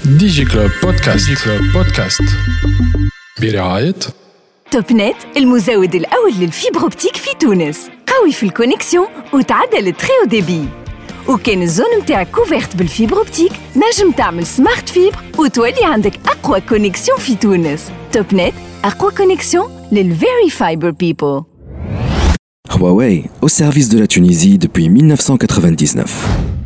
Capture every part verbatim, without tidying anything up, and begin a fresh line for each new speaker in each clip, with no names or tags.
دي جي كلوب بودكاست. دي جي كلوب بودكاست برعاية
توب نت، المزود الأول للفيبر أوبتيك في تونس. قوي في الكونيكسيون وتعدل التري ديبي. وكان الزون متاعك كوفيرت بالفيبر أوبتيك، نجم تعمل سمارت فيبر وتولي عندك أقوى كونيكسيون في تونس. توب نت، أقوى كونيكسيون للفيري فايبر بيبل.
Huawei, au service de la Tunisie depuis mille neuf cent quatre-vingt-dix-neuf.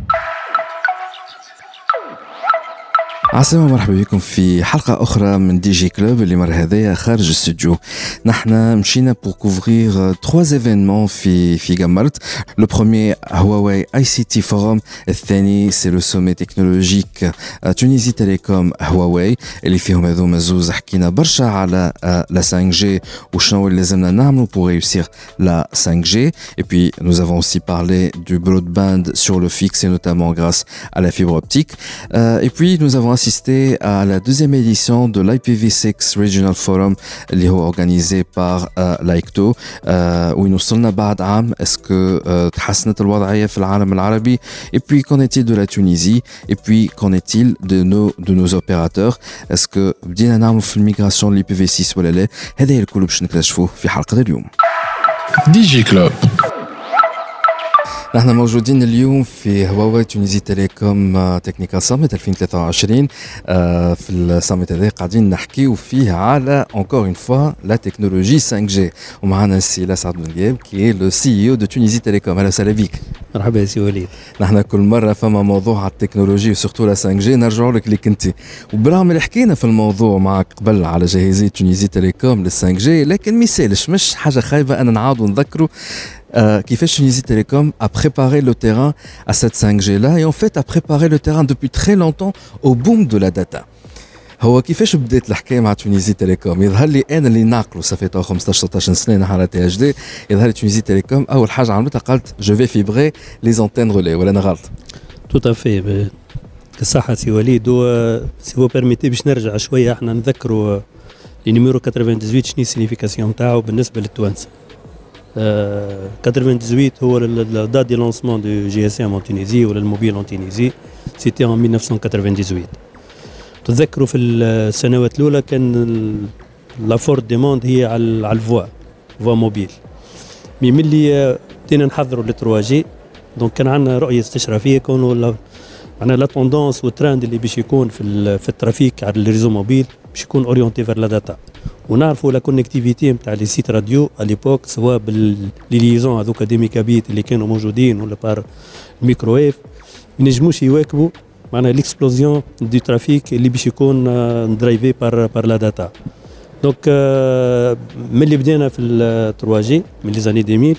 عسلامة، مرحبا بكم في حلقة أخرى من دي جي كلوب. اللي مر هذايا خارج الاستوديو. نحن مشينا pour couvrir trois événements في في جمرت. Le premier Huawei آي سي تي Forum. الثاني c'est le sommet technologique Tunisie Telecom Huawei اللي فيهم هذوما زوز حكينا برشا على la cinq G وشنو اللي لازمنا نعملوا pour réussir la cinq G. Et puis nous avons aussi parlé du broadband sur le fixe et notamment grâce à la fibre optique. Euh, et puis nous avons assisté à la deuxième édition de l'I P v six Regional Forum اللي هو organisé par euh, l'AICTO euh, وين وصلنا بعد عام. est-ce que euh, تحسنت الوضعية في العالم العربي؟ et puis qu'en est-il de la Tunisie? et puis qu'en est-il de nos de nos opérateurs? est-ce que بدينا نعمل في الميغراسيون l'I P v six ولا لا؟ هذا الكل باش نكتشفوه في حلقة اليوم.
دي جي كلوب.
نحن موجودين اليوم في هواوي تونيزي تيليكوم تكنيكال ساميت ألفين وثلاثة وعشرين. في الساميت هذا قاعدين نحكيو فيه على encore une fois la technologie cinq G. ومعنا السي لاسعد بن غياب كي لو سي او دو تونيزي تيليكوم. اهلا وسهلا بك.
مرحبا يا سي وليد.
نحن كل مره فما موضوع على التكنولوجي وسورتو لا cinq G نرجعوا لك اللي كنتي، وبرغم اللي حكينا في الموضوع معك قبل على جاهزيه تونيزي تيليكوم لل cinq G، لكن مثالش مش حاجه خايبه أن نعاودوا نذكروا Euh, qui fait Tunisie Telecom a préparé le terrain à cette cinq G là et en fait a préparé le terrain depuis très longtemps au boom de la data. هو كيفاش بدات الحكايه مع تونيزي تيليكوم؟ يظهر لي انا اللي ناقله صافي تو خمسطاش ستطاش سنه على تي اتش دي. يظهر لي تونيزي تيليكوم اول حاجه عملتها قالت جو في فيبري لي زونتين رولي، ولا انا غلط؟
تو تافي الصحه سي وليد. سي فو بيرميتي باش نرجع شويه احنا نذكروا لي نيميرو ثمانية وثمانين شنو السينيفيكاسيون تاعو بالنسبه للتوانسه. ثمانية وثمانين هو la date de lancement du G S M en Tunisie ou le mobile en Tunisie, c'était en mille neuf cent quatre-vingt-dix-huit. تذكروا في السنوات الأولى كان la forte demande هي على على الفوا فوا موبيل. مي ملي بدينا نحضروا ل ثري جي دونك كان عندنا رؤية استشرافية كونوا معنا لا توندونس والترند اللي باش يكون في في الترافيك على الريزو موبيل باش يكون اورينتي فير لا داتا. ونعرفوا لا كونيكتيفيتي نتاع لي سيت راديو على ليبوك سواء بالليزون هذوك دي ميجابيت اللي كانوا موجودين ولا بار الميكروويف ما ينجموش يواكبوا معنا ليكسبلوزيون دي ترافيك اللي باش يكون درايفي بار بار لا داتا. دونك ملي بدينا في ال ثري جي من لي زاني ألفين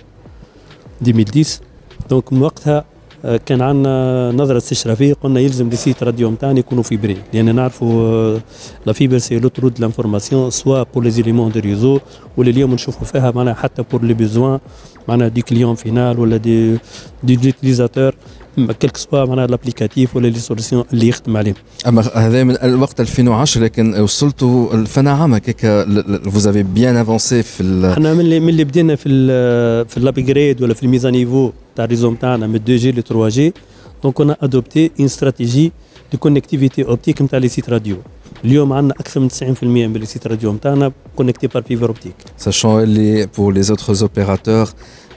عشرة دونك من وقتها كان عندنا نظرة استشرافية، قلنا يلزم لي سيت راديو نتاعنا يكونوا فيبري، لأن نعرفوا لا فيبر سي لوترود دو لانفورماسيون سوا بور لي زيليمون دو ريزو ولا اليوم نشوفوا فيها معناها حتى بور لي بيزوان معناها دي كليون فينال ولا دي دي يوتيليزاتور كلك سوا معناها لابليكاتيف ولا لي سوليسيون اللي يخدم عليهم.
اما هذا من الوقت ألفين وعشرة، لكن وصلتوا الفنا عام هكاك فوزافي بيان افونسي في
احنا من اللي من اللي بدينا في ال في الابجريد ولا في الميزان نيفو تاع الريزو نتاعنا من اثنين جي ل ثري جي. دونك انا ادوبتي ان استراتيجي دو كونيكتيفيتي اوبتيك نتاع لي سيت راديو. اليوم عندنا اكثر من تسعين بالمئة من لي سيت راديو نتاعنا كونيكتي بار فيبر اوبتيك.
ساشون اللي بور لي اوتر اوبيراتور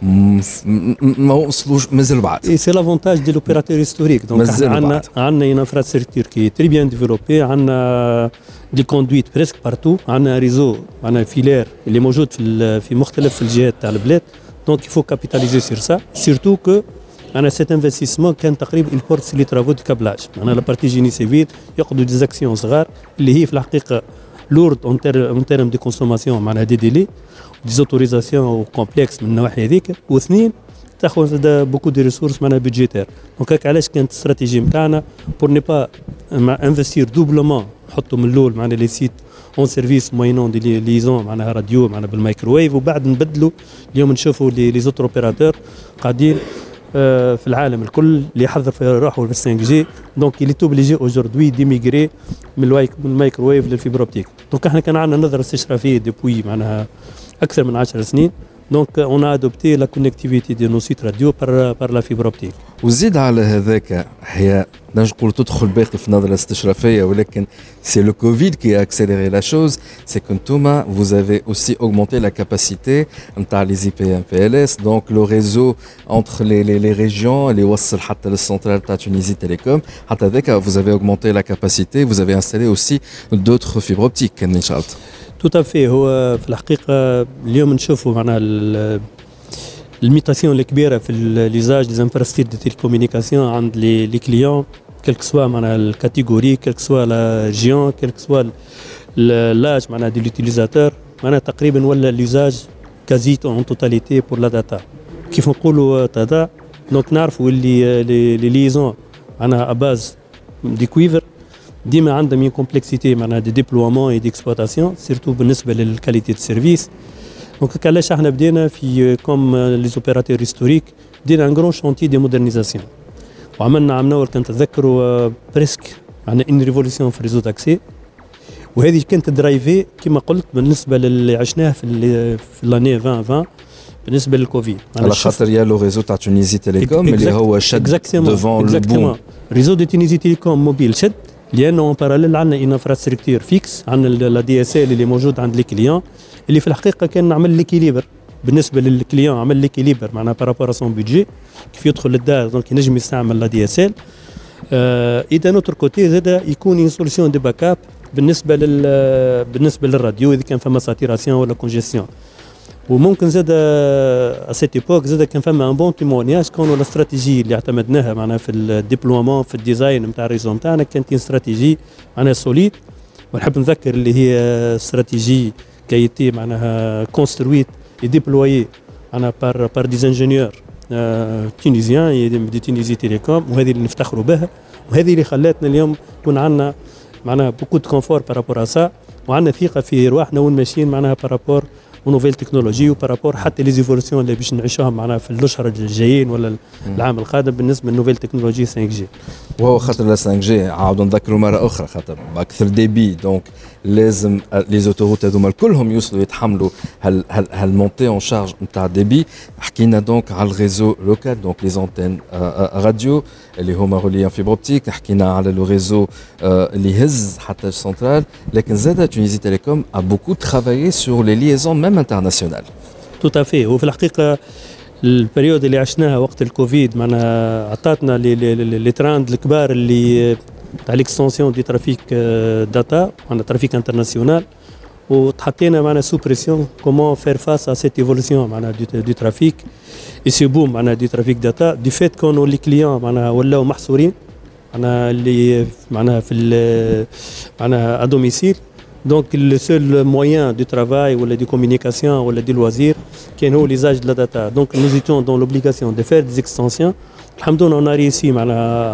ما وصلوش مازال بعد.
اي سي لافونتاج دي لوبيراتور هيستوريك. دونك عندنا عندنا اون انفراستركتور كي تري بيان ديفلوبي، عندنا دي كوندويت بريسك بارتو، عندنا ريزو عندنا فيلير اللي موجود في في مختلف الجهات تاع البلاد. دونك يفو كابيتاليزي سير سا سيرتو كو انا سيت انفستيسمون كان تقريبا البورت لي ترافو دو كابلاج. انا لا بارتي جيني سيفيل ياخذوا دي زاكسيون صغار اللي هي في الحقيقه لورد اون اون تيرم دي كونسوماسيون معناها دي ديلي ديزوتوريزاسيون كومبلكس من النواحي هذيك، واثنين تاخذ بوكو دي ريسورس معناها بيدجيتير. دونك هكا علاش كانت الاستراتيجي نتاعنا بور ني با انفستير دوبلومون نحطوا من الاول معناها لي سيت اون سيرفيس موينون دي ليزون معناها راديو معناها بالمايكروويف، وبعد نبدلوا. اليوم نشوفوا لي زوتر اوبيراتور قاعدين في العالم الكل اللي يحضر في روحه في cinq G. دونك اللي توبليجي اوجوردوي ديميغري من المايكروويف للفيبر اوبتيك. دونك احنا كان عندنا نظره استشرافيه ديبوي معناها اكثر من عشر سنين Donc on a adopté la connectivité de nos sites radio par par la fibre optique.
وزيد على هذاك هي نجم نقول تدخل باقي في النظرة الاستشرافية ولكن c'est le Covid qui a accéléré la chose, c'est que Ntouma, vous avez aussi augmenté la capacité نتاع les I P M P L S, donc le réseau entre les les les régions, اللي يوصل حتى للسنترال تاع Tunisie Telecom, حتى هذاك vous avez augmenté la capacité, vous avez installé aussi d'autres fibres optiques كان إن شاء الله.
Tout à fait. هو في الحقيقة اليوم نشوفوا معناها الميتاسيون الكبيرة في ليزاج دي انفراستركتور دي تيليكومونيكاسيون عند لي لي كليون كلك سوا معناها الكاتيجوري كلك سوا لا ريجيون كلك سوا لاج معناها دي لوتيليزاتور معناها تقريبا ولا ليزاج كازي اون توتاليتي بور لا داتا كيف نقولوا داتا دونك نعرفوا اللي لي ليزون معناها اباز دي كويفر ديما عندها مين كومبلكسيتي معناها دي ديبلويمون اي ديكسبلوطاسيون سيرتو بالنسبه للكاليتي دو سيرفيس. دونك علاش احنا بدينا في كوم لي زوبيراتور هيستوريك بدينا ان غران شونتي دي مودرنيزاسيون وعملنا عام اول كنت تذكروا بريسك معناها ان ريفولوسيون في ريزو تاكسي وهذه كانت درايفي كما قلت بالنسبه للي عشناه في في لاني ألفين وعشرين بالنسبه للكوفيد
على خاطر يا لو ريزو تاع تونيزي تيليكوم اللي هو شد ديفون لو بون
ريزو دي تونيزي تيليكوم موبيل شد لانه اون باراليل عندنا ان انفراستركتور فيكس عندنا لا دي اس ال اللي موجود عند لي كليون اللي في الحقيقه كان نعمل ليكيليبر بالنسبه للكليون عمل ليكيليبر معناها بارابور سون بودجي كيف يدخل للدار دونك ينجم يستعمل لا دي اس ال اذا نوتر كوتي زاد يكون اون سوليسيون دي باك اب بالنسبه لل بالنسبه للراديو اذا كان فما ساتيراسيون ولا كونجيستيون وممكن زاد اسيت ايبوك زاد كان فما ان بون تيمونياج كونوا الاستراتيجي اللي اعتمدناها معناها في الديبلومون في الديزاين نتاع الريزو نتاعنا كانت استراتيجي معناها سوليد ونحب نذكر اللي هي استراتيجي كايتي معناها كونسترويت اي ديبلويي معناها بار بار دي انجينيور تونيزيان دي تونيزي تيليكوم وهذه اللي نفتخروا بها وهذه اللي خلاتنا اليوم يكون عندنا معناها بوكو دو كونفور بارابور اسا وعندنا ثقه في رواحنا وين ماشيين معناها بارابور ونوفيل تكنولوجي وبارابور حتى لي زيفولوسيون اللي باش نعيشوهم معنا في الاشهر الجايين ولا العام القادم بالنسبه للنوفيل تكنولوجي خمسة جي.
وهو خاطر لا خمسة جي عاودوا نذكروا مره اخرى خاطر باكثر ديبي دونك لازم لي زوتوروت هذوما كلهم يوصلوا يتحملوا هال هال هالمونتي اون شارج نتاع ديبي. حكينا دونك على الريزو لوكال دونك لي زونتين راديو اللي هما روليان فيبر اوبتيك. حكينا على لو ريزو اللي يهز حتى السنترال لكن زاد تونيزي تيليكوم ا بوكو ترافايي سور لي ليزون ميم انترناسيونال.
تو افي. وفي الحقيقه البريود اللي عشناها وقت الكوفيد معنا عطاتنا لي لي لي تراند الكبار اللي تاع ليكستونسيون دي ترافيك داتا معنا ترافيك انترناسيونال وتحطينا معنا سو بريسيون كومون فير فاس ا سيت ايفولوسيون معنا دي ترافيك اي سي بوم معنا دي ترافيك داتا دي فيت كونوا لي كليون معنا ولاو محصورين معنا اللي معنا في معنا ا دوميسيل. Donc le seul moyen de travail ou de communication ou de loisirs qui est l'usage de la data. Donc nous étions dans l'obligation de faire des extensions. Alhamdoulilah, on a réussi à,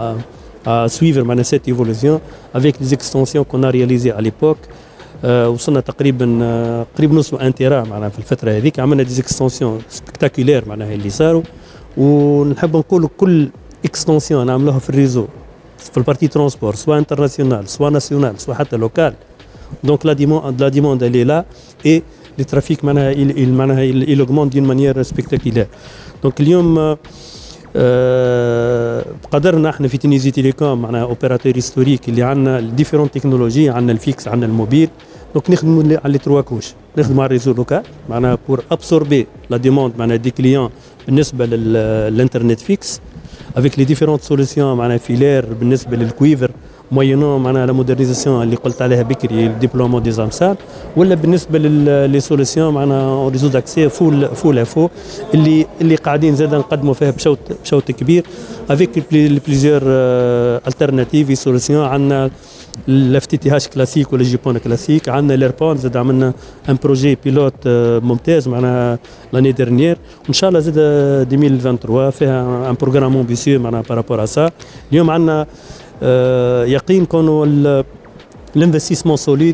à suivre cette évolution avec les extensions qu'on a réalisées à l'époque. وصلنا تقريبا قريب نص ان تيرا معنا في الفتره هذيك. عملنا دي اكستنسيون سبكتاكولير معناها اللي صاروا ونحب نقول كل اكستنسيون نعملوها في الريزو في البارتي ترونسبور سواء انترناسيونال سواء ناسيونال سواء حتى لوكال. Donc la demande, la demande elle est là et le trafic معناها il, il معناها il, il augmente d'une manière spectaculaire. Donc اليوم آه قدرنا احنا في تونيزي تيليكوم معناها اوبيراتور هيستوريك اللي عندنا ديفيرون تكنولوجي عندنا الفيكس عندنا الموبيل. دونك نخدموا على لي تروا كوش نخدموا على الريزو لوكال معناها بور ابسوربي لا ديموند معناها دي كليون بالنسبه للانترنت فيكس avec les différentes solutions معناها فيلير بالنسبه للكويفر موينون معناها لا مودرنيزاسيون اللي قلت عليها بكري الديبلومون دي زامسال ولا بالنسبه للي سوليسيون معناها ريزو داكسي فول فول افو اللي اللي قاعدين زاد نقدموا فيها بشوط بشوط كبير افيك بليزيور التيرناتيف سوليسيون. عندنا الاف تي تي هاش كلاسيك ولا جيبون كلاسيك. عندنا ليربون زاد عملنا ان بروجي بيلوت ممتاز معناها لاني ديرنيير وان شاء الله زاد ألفين وثلاثة وعشرين فيها ان بروغرام امبيسيو معناها بارابور ا سا. اليوم عندنا يقين كونوا الانفستيسمون سوليد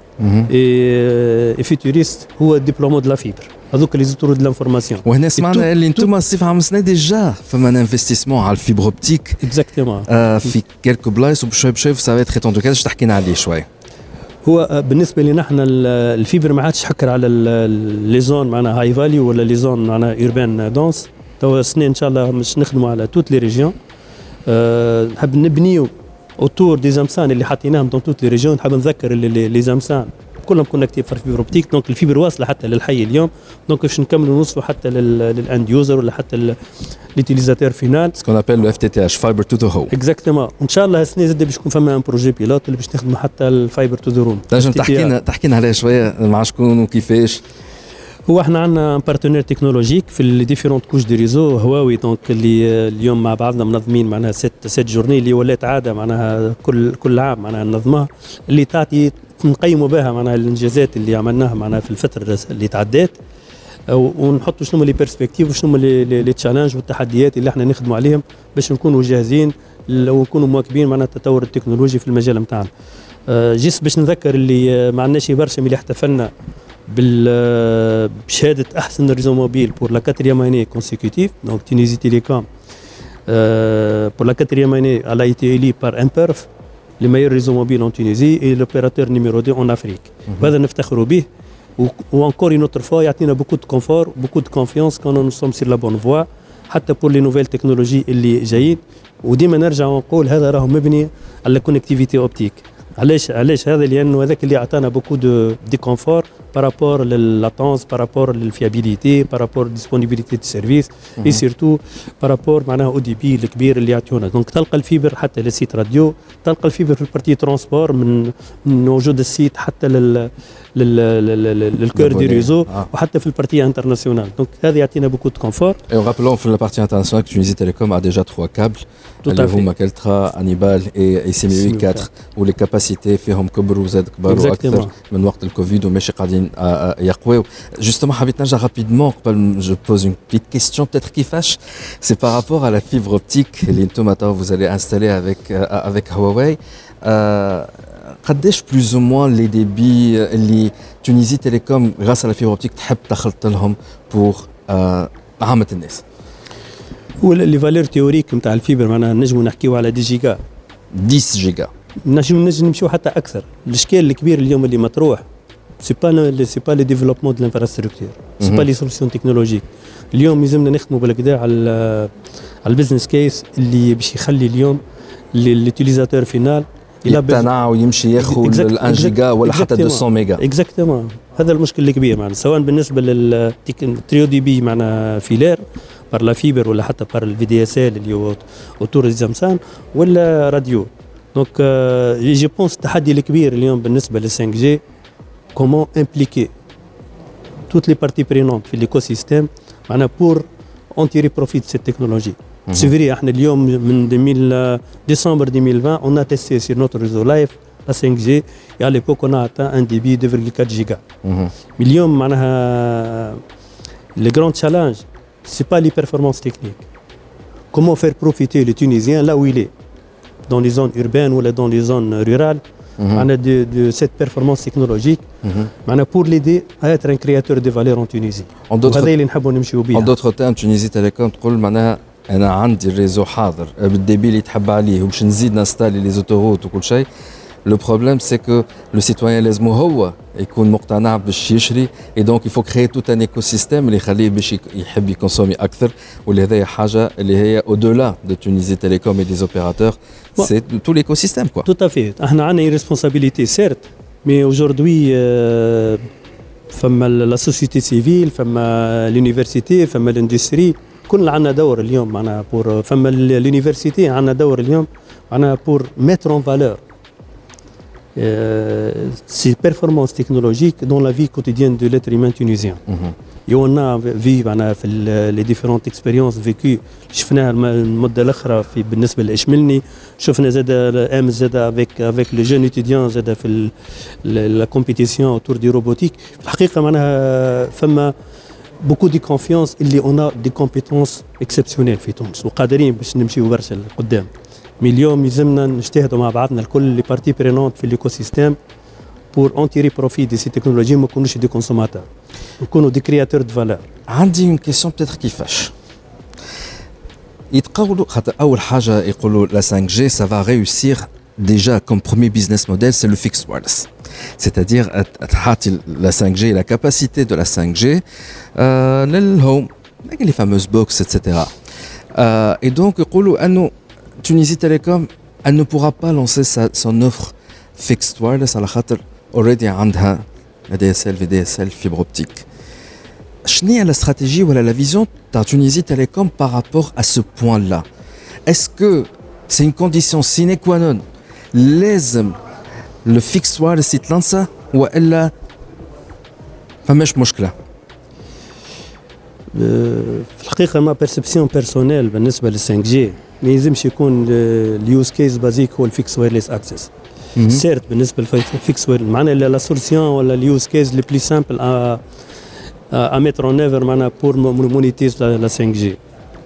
اي فيتوريست هو الدبلومو دو لا فيبر هذوك اللي زوتور دو لانفورماسيون.
وهنا سمعنا اللي انتم الصيف عام سنه ديجا فما انفستيسمون على الفيبر اوبتيك
اكزاكتومون
في كيلكو بلايص وبشوي بشوي سا فا اتر تون. كيفاش تحكينا عليه شوي؟
هو بالنسبه لنا احنا الفيبر ما عادش حكر على لي زون معنا هاي فاليو ولا لي زون معنا اوربان دونس. تو السنه ان شاء الله مش نخدموا على توت لي ريجيون. أه نحب نبنيو اوتور دي زامسان اللي حطيناهم دون توت لي ريجيون. نحب نذكر لي زامسان كلهم كونكتيف في الفيبر اوبتيك. دونك الفيبر واصله حتى للحي اليوم. دونك باش نكملوا نوصلوا حتى للاند يوزر ولا حتى ليوتيليزاتور فينال.
سكون ابل لو اف تي تي اش فايبر تو ذا هوم.
اكزاكتومون. وان شاء الله السنه زاد باش يكون فما ان بروجي بيلوت اللي باش نخدموا حتى الفايبر تو ذا روم.
تنجم تحكي لنا تحكي لنا عليه شويه مع شكون وكيفاش؟
هو احنا عندنا بارتنير تكنولوجيك في لي ديفيرونت كوش دي ريزو هواوي. دونك اللي اليوم مع بعضنا منظمين معناها ست ست جورني اللي ولات عاده معناها كل كل عام معناها ننظمها اللي تعطي نقيموا بها معناها الانجازات اللي عملناها معناها في الفتره اللي تعدات ونحطوا شنو لي بيرسبكتيف وشنو لي تشالنج والتحديات اللي احنا نخدموا عليهم باش نكونوا جاهزين ونكونوا مواكبين معناها التطور التكنولوجي في المجال نتاعنا. جيست باش نذكر اللي ما عندناش برشا اللي احتفلنا بشهاده احسن ريزو موبيل بور لا كاتريام اني كونسيكوتيف. دونك تونيزي تيليكوم بور لا كاتريام اني على اي تي الي بار امبيرف لي مايور ريزو موبيل ان تونيزي اي لوبيراتور نيميرو دو ان افريك. وهذا نفتخروا به وانكور اون اوتر فوا يعطينا بوكو دو كونفور بوكو دو كونفيونس كون نو سوم سير لا بون فوا حتى بور لي نوفيل تكنولوجي اللي جايين. وديما نرجع ونقول هذا راهو مبني على كونكتيفيتي اوبتيك. علاش علاش هذا؟ لانه هذاك اللي عطانا بوكو دو دي كونفور بارابور لللاتونس بارابور للفيابيليتي بارابور ديسبونيبيليتي دو سيرفيس اي سيرتو بارابور معناها او دي بي الكبير اللي يعطيونا. دونك تلقى الفيبر حتى للسيت راديو، تلقى الفيبر في البارتي ترونسبور من من وجود السيت حتى لل للكور دي ريزو وحتى في البارتي انترناسيونال. دونك هذا يعطينا بوكو دو كونفور.
Et on rappelons في البارتي انترناسيونال Tunisie Telecom a déjà trois câbles اللي هما كالترا انيبال اي سي ام يو أربعة واللي كاباسيتي فيهم كبر وزاد كبر اكثر من وقت الكوفيد وماشي قاعدين يقويو. جوستومون حبيت نرجع رابيدمون قبل جو بوز اون بيت كيستيون peut-être كيفاش سي بار رابور على فيبر اوبتيك اللي انتم تو vous allez installer avec avec Huawei. قداش بلوز او موان لي ديبي اللي تونيزي تيليكوم غاس على فيبر اوبتيك تحب تخلط لهم بور عامة الناس؟
هو لي فالور تيوريك نتاع الفيبر معناها نجموا نحكيو على دي جيجا
عشرة جيجا
نجم نجم نمشيو حتى اكثر. الاشكال الكبير اليوم اللي مطروح سي با سي با لي ديفلوبمون دو لانفراستركتور سي با لي سوليسيون تكنولوجيك. اليوم لازمنا نخدموا بالكدا على على البزنس كيس اللي باش يخلي اليوم لليوتيليزاتور فينال
يقتنع ويمشي ياخذ الان جيجا ولا حتى مئتين ميجا.
اكزاكتومون هذا المشكل الكبير معنا سواء بالنسبه للتريو دي بي معنا فيلير بار لا فيبر ولا حتى بار الفي دي اس ال اللي هو اوتور زامسان ولا راديو. دونك جي بونس التحدي الكبير اليوم بالنسبه لل خمسة جي كومون امبليكي توت لي بارتي برينونت في ليكو سيستيم معنا بور اون تيري بروفيت سيت تكنولوجي. C'est vrai, احنا اليوم من décembre deux mille vingt on a testé sur notre réseau live la cinq G et à l'époque on a atteint un débit de deux virgule quatre giga. Mais اليوم معناها le grand challenge c'est pas les performances techniques. Comment faire profiter le Tunisien là où il est dans les zones urbaines ou dans les zones rurales معناها de, de cette performance technologique معناها pour l'aider à être un créateur de valeur en Tunisie. وهذا اللي نحبوا نمشيو بيه.
En d'autres termes Tunisie Telecom تقول معناها انا عندي الريزو حاضر بالديبي اللي تحب عليه وباش نزيد نستالي لي زوتوروت وكل شيء. لو بروبليم سي كو لو سيتويان لازم هو يكون مقتنع باش يشري اي دونك يفو كريي توت ان ايكو سيستيم اللي يخليه باش يحب يكونسومي اكثر. واللي هذايا حاجه اللي هي او دولا دو تونيزي تيليكوم اي دي زوبيراتور سي تو ليكو سيستيم كوا.
تو افي احنا عندنا ريسبونسابيلتي سيرت مي اوجوردي فما لا سوسيتي سيفيل فما لونيفرسيتي فما الاندستري كل عندنا دور اليوم معنا بور فما l'université عندنا دور اليوم معنا بور mettre en valeur euh, ces performances technologiques dans la vie quotidienne de l'être humain tunisien. Et on a vu معنا في les différentes expériences vécues شفناها المدة الأخرى في بالنسبة لإشملني شفنا زاد ام زاد avec avec les jeunes étudiants زاد في la compétition autour du robotique. الحقيقة معناها فما beaucoup de confiance اللي on a des compétences exceptionnelles في تونس وقادرين باش نمشيو برشا لقدام. مي اليوم يلزمنا نجتهدوا مع بعضنا الكل لي بارتي برينونت في الايكو سيستيم بور اون تيري بروفيت دي سي تكنولوجي ما نكونوش دي كونسوماتور نكونوا دي كرياتور دو فالور.
عندي اون كيسيون بتاتر كيفاش يتقولوا خاطر اول حاجه يقولوا لا خمسة جي سا فا ريوسير déjà comme premier business model, c'est le fixed wireless. C'est-à-dire la cinq G, la capacité de la cinq G, euh, l'home, les fameuses box, et cetera. Euh, et donc, Tunisie Telecom, elle ne pourra pas lancer sa, son offre fixed wireless à la khater already عندها A D S L, V D S L, fibre optique. Quelle est la stratégie ou la vision de Tunisie Telecom par rapport à ce point-là? Est-ce que c'est une condition sine qua non لازم le fixed wireless يتلانسا وإلا فماش مشكلة؟
في الحقيقة ما بيرسبسيون بيرسونيل بالنسبة لل فايف جي ما يلزمش يكون اليوز كيس بازيك هو الفيكس وايرلس اكسس. سيرت بالنسبة للفيكس وايرلس معناها لا سوليسيون ولا اليوز كيس لي بلي سامبل ا ا ميتر اون ايفر معناها بور مونيتيز لا فايف جي.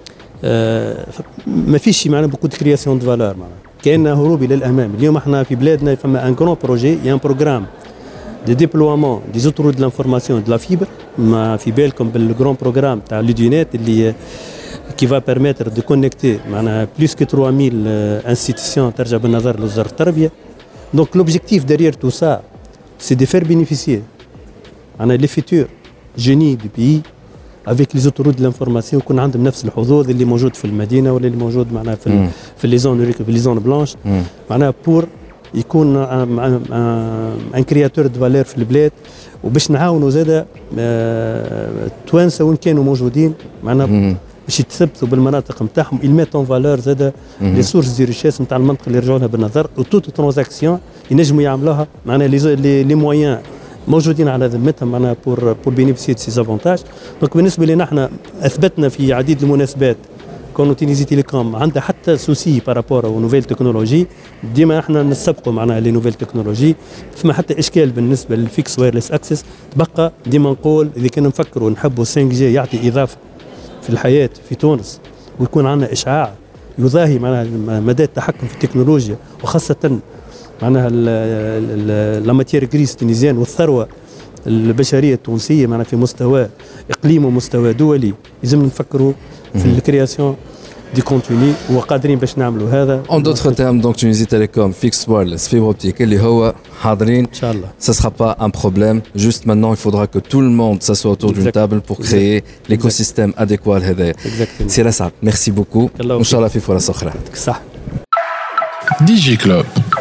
ما فيش معناها بوكو دو كرياسيون دو فالور معناها كاين هروب الى الامام. اليوم احنا في بلادنا فما ان كرون بروجي يا ان بروغرام دي ديبلوامون دي زوتورود دو لانفورماسيون دو لا فيبر. ما في بالكم بالجرون بروغرام تاع لودينيت اللي كي فا بيرميتر دو كونيكتي معنا بلوس كو ثلاث مية انستيتيسيون ترجع بالنظر لوزاره التربيه. دونك لوبجيكتيف ديريير تو سا سي دي فير بينيفيسيي معنا لي فيتور جيني دو بيي افيك لي زوتورود دو لانفورماسيون يكون عندهم نفس الحظوظ اللي موجود في المدينه ولا اللي موجود معنا في ال في لي زون في لي زون بلانش معناها بور يكون ان كرياتور دو فالور في البلاد. وباش نعاونوا زاده التوانسه وين كانوا موجودين معناها باش يتثبتوا بالمناطق نتاعهم يميت اون فالور زاده لي سورس دي ريشيس نتاع المنطقه اللي يرجعوا لها بالنظر وتوت ترانزاكسيون ينجموا يعملوها معناها لي لي مويان موجودين على ذمتهم معناها بور بور بينيفيسيي دو سي افونتاج. دونك بالنسبه لنا احنا اثبتنا في عديد المناسبات كونو تونيزي تيليكوم عندها حتى سوسي بارابور او نوفيل تكنولوجي ديما احنا نسبقوا معناها لي نوفيل تكنولوجي. فما حتى اشكال بالنسبه للفيكس وايرلس اكسس. تبقى ديما نقول اذا كنا نفكروا نحبوا فايف جي يعطي اضافه في الحياه في تونس ويكون عندنا اشعاع يضاهي معناها مدى التحكم في التكنولوجيا وخاصه معناها لا ماتير غريس تونيزيان والثروه البشريه التونسيه معناها في مستوى اقليمي ومستوى دولي. لازم نفكروا في الكرياسيون دي كونتوني وقادرين باش نعملوا هذا.
En d'autres termes, donc Tunisie Telecom, fixed wireless, fibre optique, اللي هو حاضرين.
إن شاء الله.
Ça sera pas un problème. Juste maintenant, il faudra que tout le monde s'assoie autour d'une table pour créer l'écosystème adéquat هذا.
Exactement.
C'est ça. Merci beaucoup. إن شاء الله في فرص أخرى.
صح.
دي جي كلوب.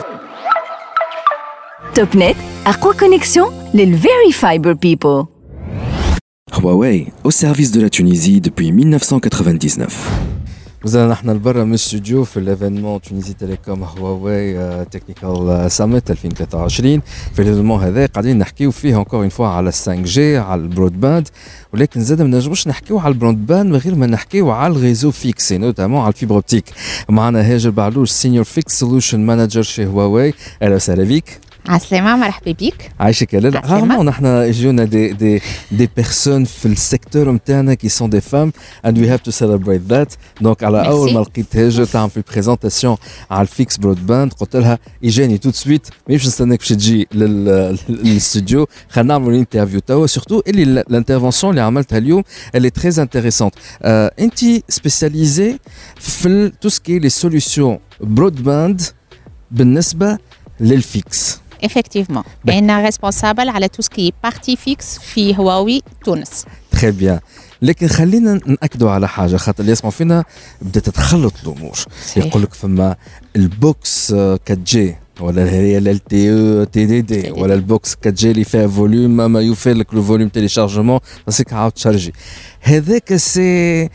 توب نت أقوى كونيكسيون للفيري فايبر بيبل.
Huawei, au service de la Tunisie depuis mille neuf cent quatre-vingt-dix-neuf.
وزلنا نحن لبرا من الاستوديو في الايفينمون تونيزي تيليكوم هواوي تكنيكال ساميت ألفين وثلاثة وعشرين. في الايفينمون هذا قاعدين نحكيو فيه انكور اون فوا على فايف جي على البرود باند. ولكن زاد ما نجموش نحكيو على البرود باند من غير ما نحكيو على الريزو فيكس نوتامون على الفيبر اوبتيك. معنا هاجر بعلوش سينيور فيكس سولوشن مانجر شي هواوي. اهلا وسهلا بك.
عسلامة مرحبا بيك.
عايشك يا لاله. رغم نحن يجونا دي دي دي بيرسون في السيكتور نتاعنا كي سون دي فام and we have to celebrate that. دونك على اول ما لقيت هاجر تعمل في بريزونطاسيون على الفيكس برود باند قلت لها اجاني تو سويت مانيش نستناك باش تجي للاستوديو خلينا نعملوا انترفيو توا سورتو اللي الانترفونسيون اللي عملتها اليوم اللي تري انتريسونت. انت سبيسياليزي في تو سكي لي سوليوشن برود باند بالنسبه للفيكس.
Effectivement. أنا responsable على tout ce qui est partie fixe في هواوي تونس.
Très bien. لكن خلينا نأكدوا على حاجة خاطر اللي يسمعوا فينا بدأت تتخلط الأمور. يقول لك فما البوكس فور جي ولا هي ال تي او تي دي دي ولا البوكس فور جي اللي فيها فوليوم ما يوفر لك لو فوليوم تيليشارجمون باسكو عاود تشارجي. هذاك سي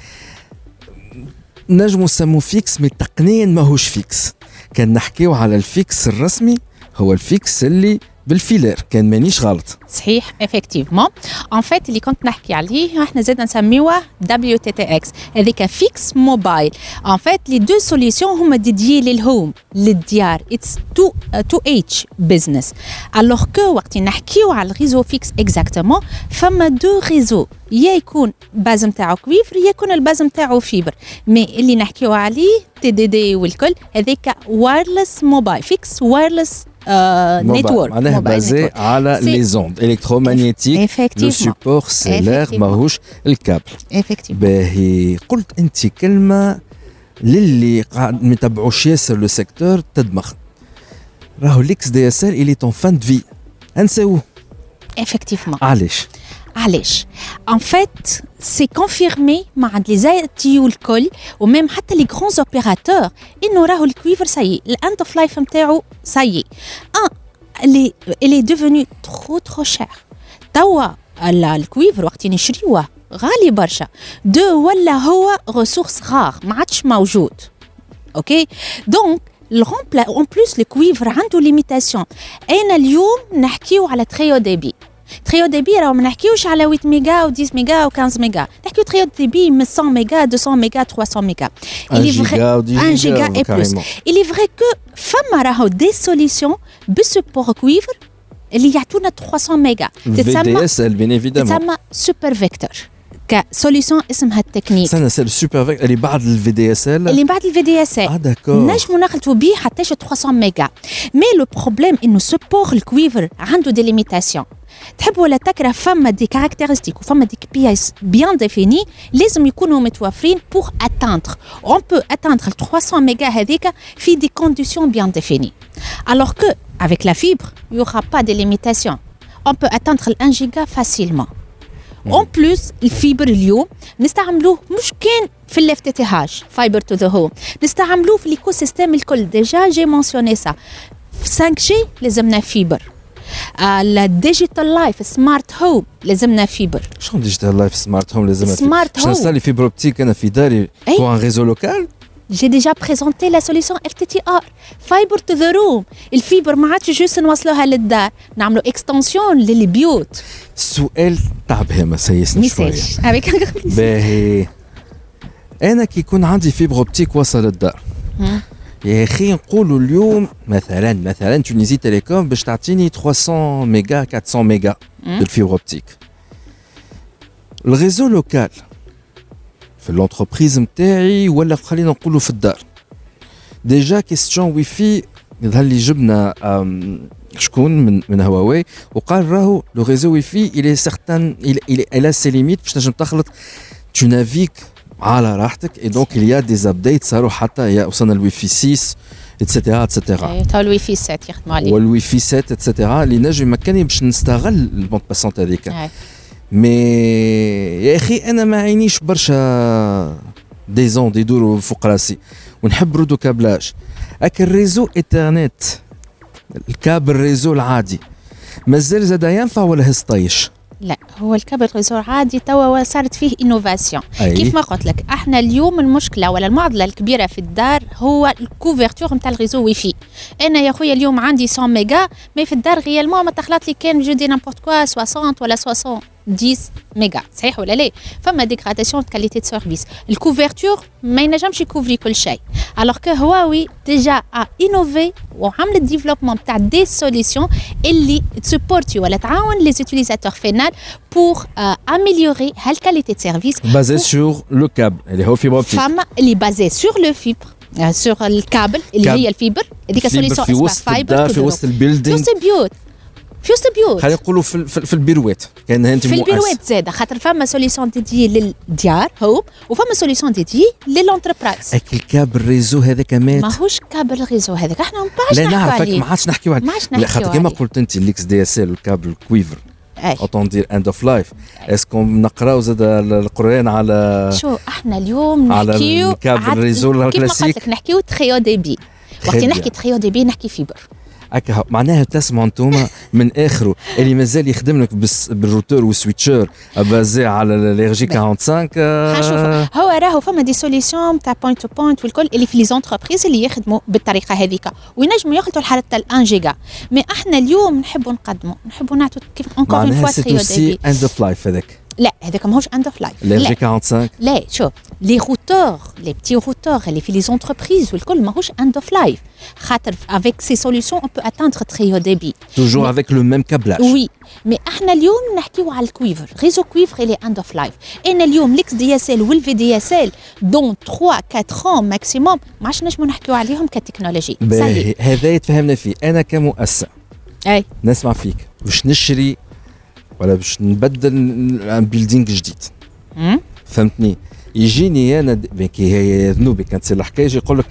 نجمو نسموه فيكس مي تقنيا ماهوش فيكس. كان نحكيو على الفيكس الرسمي هو الفيكس اللي بالفيلر كان مانيش غلط.
صحيح افكتيفمون. ان فيت اللي كنت نحكي عليه احنا زاد نسميوه دبليو تي تي اكس هذيك فيكس موبايل. ان فيت لي دو سوليوشن هما ديديي للهوم للديار. اتس تو تو اتش بزنس. الوغ كو وقت نحكيو على الريزو فيكس اكزاكتومون فما دو ريزو يا يكون باز نتاعو كويفر يا يكون الباز نتاعو فيبر. مي اللي نحكيو عليه تي دي دي والكل هذيك وايرلس موبايل فيكس وايرلس نتورك
معناها بازي على لي زوند الكترومغنيتيك. لو سيبور سيلير ماهوش الكابل. باهي قلت انت كلمه للي قاعد ما يتبعوش ياسر لو سيكتور تدمخ. راهو ليكس دي اس ال اللي طون فان دو في انساوه.
effectivement
علاش؟
علاش en fait c'est confirmé مع لي زيتي والكل وميم حتى لي غران اوبيراتور انه راهو الكويفر سايي الاند اوف لايف نتاعو سايي ان اللي اللي ديفوني ترو ترو شير توا الكويفر وقت نشريوه غالي برشا. دو ولا هو ريسورس غار ما عادش موجود. اوكي دونك الغومبلا اون بلوس الكويفر عنده ليميتاسيون. انا اليوم نحكيو على تريو ديبي. تريو ديبي راهو ما نحكيوش على ثمانية ميجا و عشرة ميجا و خمسة ميجا، نحكيو تريو ديبي من مية ميجا مئتين ميجا ثلاثمية ميجا
واحد جيجا و
واحد جيجا اي بلس. il est vrai que فما راهو دي سوليسيون بسبور كويفر اللي يعطونا ثلاثمية ميجا
تتسمى في دي اس ال بين ايفيدامون
تتسمى سوبر فيكتور كسوليسيون اسمها التكنيك.
سنة سال السوبر فيكتور اللي بعد الفي دي اس ال
اللي بعد الفي دي اس ال
اه داكور
نجمو نخلطو بيه حتى ثلاثمية ميجا. مي لو بروبليم انه سبور الكويفر عنده دي ليميتاسيون. تحب ولا تكره فما دي كاركتيرستيك وفما دي بي اس بيان ديفيني لازم يكونوا متوفرين بور اتاندر. اون بو اتاندر ثلاثمية ميجا هذيك في دي كونديسيون بيان ديفيني. alors que avec la fibre il y aura pas de limitation. on peut atteindre un giga facilement. en plus الفيبر اليوم نستعملوه مش كان في الاف تي تي هاش فايبر تو ذا هوم، نستعملوه في الايكو سيستم الكل. ديجا جي مونسيوني سا خمسة جي لازمنا فيبر. الديجيتال لايف سمارت هوم لازمنا فيبر.
شنو ديجيتال لايف سمارت هوم لازمنا
سمارت هوم؟
باش نصلي فيبر اوبتيك انا في داري بور ان ريزو لوكال.
J'ai déjà présenté la solution اف تي تي ار Fiber to the room. الفيبر ما عادش جوست نوصلوها للدار، نعملوا اكستنسيون للبيوت.
السؤال تاع بهيمه سيسنا شويه باهي. انا كي يكون عندي فيبر اوبتيك وصل الدار يا اخي نقولوا اليوم مثلا مثلا تونيزي تيليكوم باش تعطيني ثلاثمية ميجا أربعمية ميجا بالفيبر اوبتيك. الريزو لوكال في الانتربريز نتاعي ولا خلينا نقولوا في الدار ديجا كيستيون واي في يظهر لي جبنا شكون من من هواوي وقال راهو لو ريزو واي في الي سيغتان الى الى سي ليميت باش تنجم تخلط تو نافيك على راحتك. اي دونك il y a des updates صاروا حتى يا وصلنا الواي في ستة اتسيتيرا اتسيتيرا.
تا الواي في سبعة يخدموا عليه
والواي في سبعة اتسيتيرا اللي نجم يمكنني باش نستغل البوند باسونت هذيك. مي يا اخي انا ما عينيش برشا دي زون دي يدوروا فوق راسي ونحب رودو كابلاج. اك الريزو ايترنت الكابل ريزو العادي مازال زاد ينفع ولا هسطيش؟
لا هو الكابل ريزو عادي توا صارت فيه انوفاسيون. كيف ما قلت لك احنا اليوم المشكله ولا المعضله الكبيره في الدار هو الكوفرتور نتاع الريزو واي في. انا يا خويا اليوم عندي مية ميجا مي في الدار غيالمون ما تخلط لي كان جو دي نامبورت كوا ستين ولا ستين عشرة ميجا صحيح ولا لا؟ فما ديغراداسيون دو كاليتي دو سيرفيس. الكوفرتور ما ينجمش يكوفري كل شيء. alors que هواوي ديجا ا انوفي وعملت ديفلوبمون تاع دي سوليسيون اللي تسبورتي ولا تعاون لي زوتيليزاتور فينال بور اميليوري هالكاليتي دو سيرفيس
بازي سور لو كابل اللي هو فيبر اوبتيك.
فما اللي بازي سور لو فيبر سور الكابل اللي هي الفيبر هذيك سوليسيون
في وسط الدار في وسط البيلدينغ
في وسط البيوت في وسط البيوت
خلينا نقولوا في في البيروات كان انت
في البيروات زاد خاطر فما سوليسيون ديدي للديار هو وفما سوليسيون ديدي للانتربرايز.
اك الكابل ريزو هذاك مات
ماهوش كابل ريزو هذاك احنا ما باش
لا
نحكوا
نعرفك
عليه.
ما عادش نحكيو عليه خاطر كما قلت انت الاكس دي اس ال والكابل كويفر اوتون دير اند اوف لايف. اسكو نقراو زاد القران على
شو احنا اليوم نحكيو
على الكابل ريزو الكلاسيك
كيف نحكيو تريو ديبي. وقت نحكي تريو ديبي نحكي فيبر
هكا معناها تسمعوا انتوما من اخره اللي مازال يخدم لك بالروتور والسويتشر بازي على الارجي خمسة وأربعين.
هو راهو فما دي سوليسيون تاع بوينت تو بوينت والكل اللي في لي زونتربريز اللي يخدموا بالطريقه هذيك وينجموا يخلطوا الحاله تاع واحد جيجا. مي احنا اليوم نحبوا نقدموا نحبوا نعطوا كيف اونكور اون فوا تريو ديبي.
اند اوف لايف هذاك
لا هذاك ماهوش اند اوف لايف.
الارجي خمسة وأربعين
لا شوف لي روتور لي بتي روتور اللي في لي زونتربريز والكل ماهوش اند اوف لايف خاطر افيك سي سوليسيون اون بو اتاندر تريو ديبي
توجور افيك لو ميم كابلاج.
وي مي احنا اليوم نحكيو على الكويفر ريزو كويفر اللي اند اوف لايف. انا اليوم ليكس دي اس ال والفي دي اس ال دون ثلاثة أربعة ماكسيموم ما عادش نجمو نحكيو عليهم كتكنولوجي.
هذا يتفهمنا فيه. انا كمؤسسه
اي
نسمع فيك باش نشري ولا باش نبدل ان بيلدينغ جديد فهمتني يجيني انا كي هي ذنوبي كانت تصير الحكايه يجي يقول لك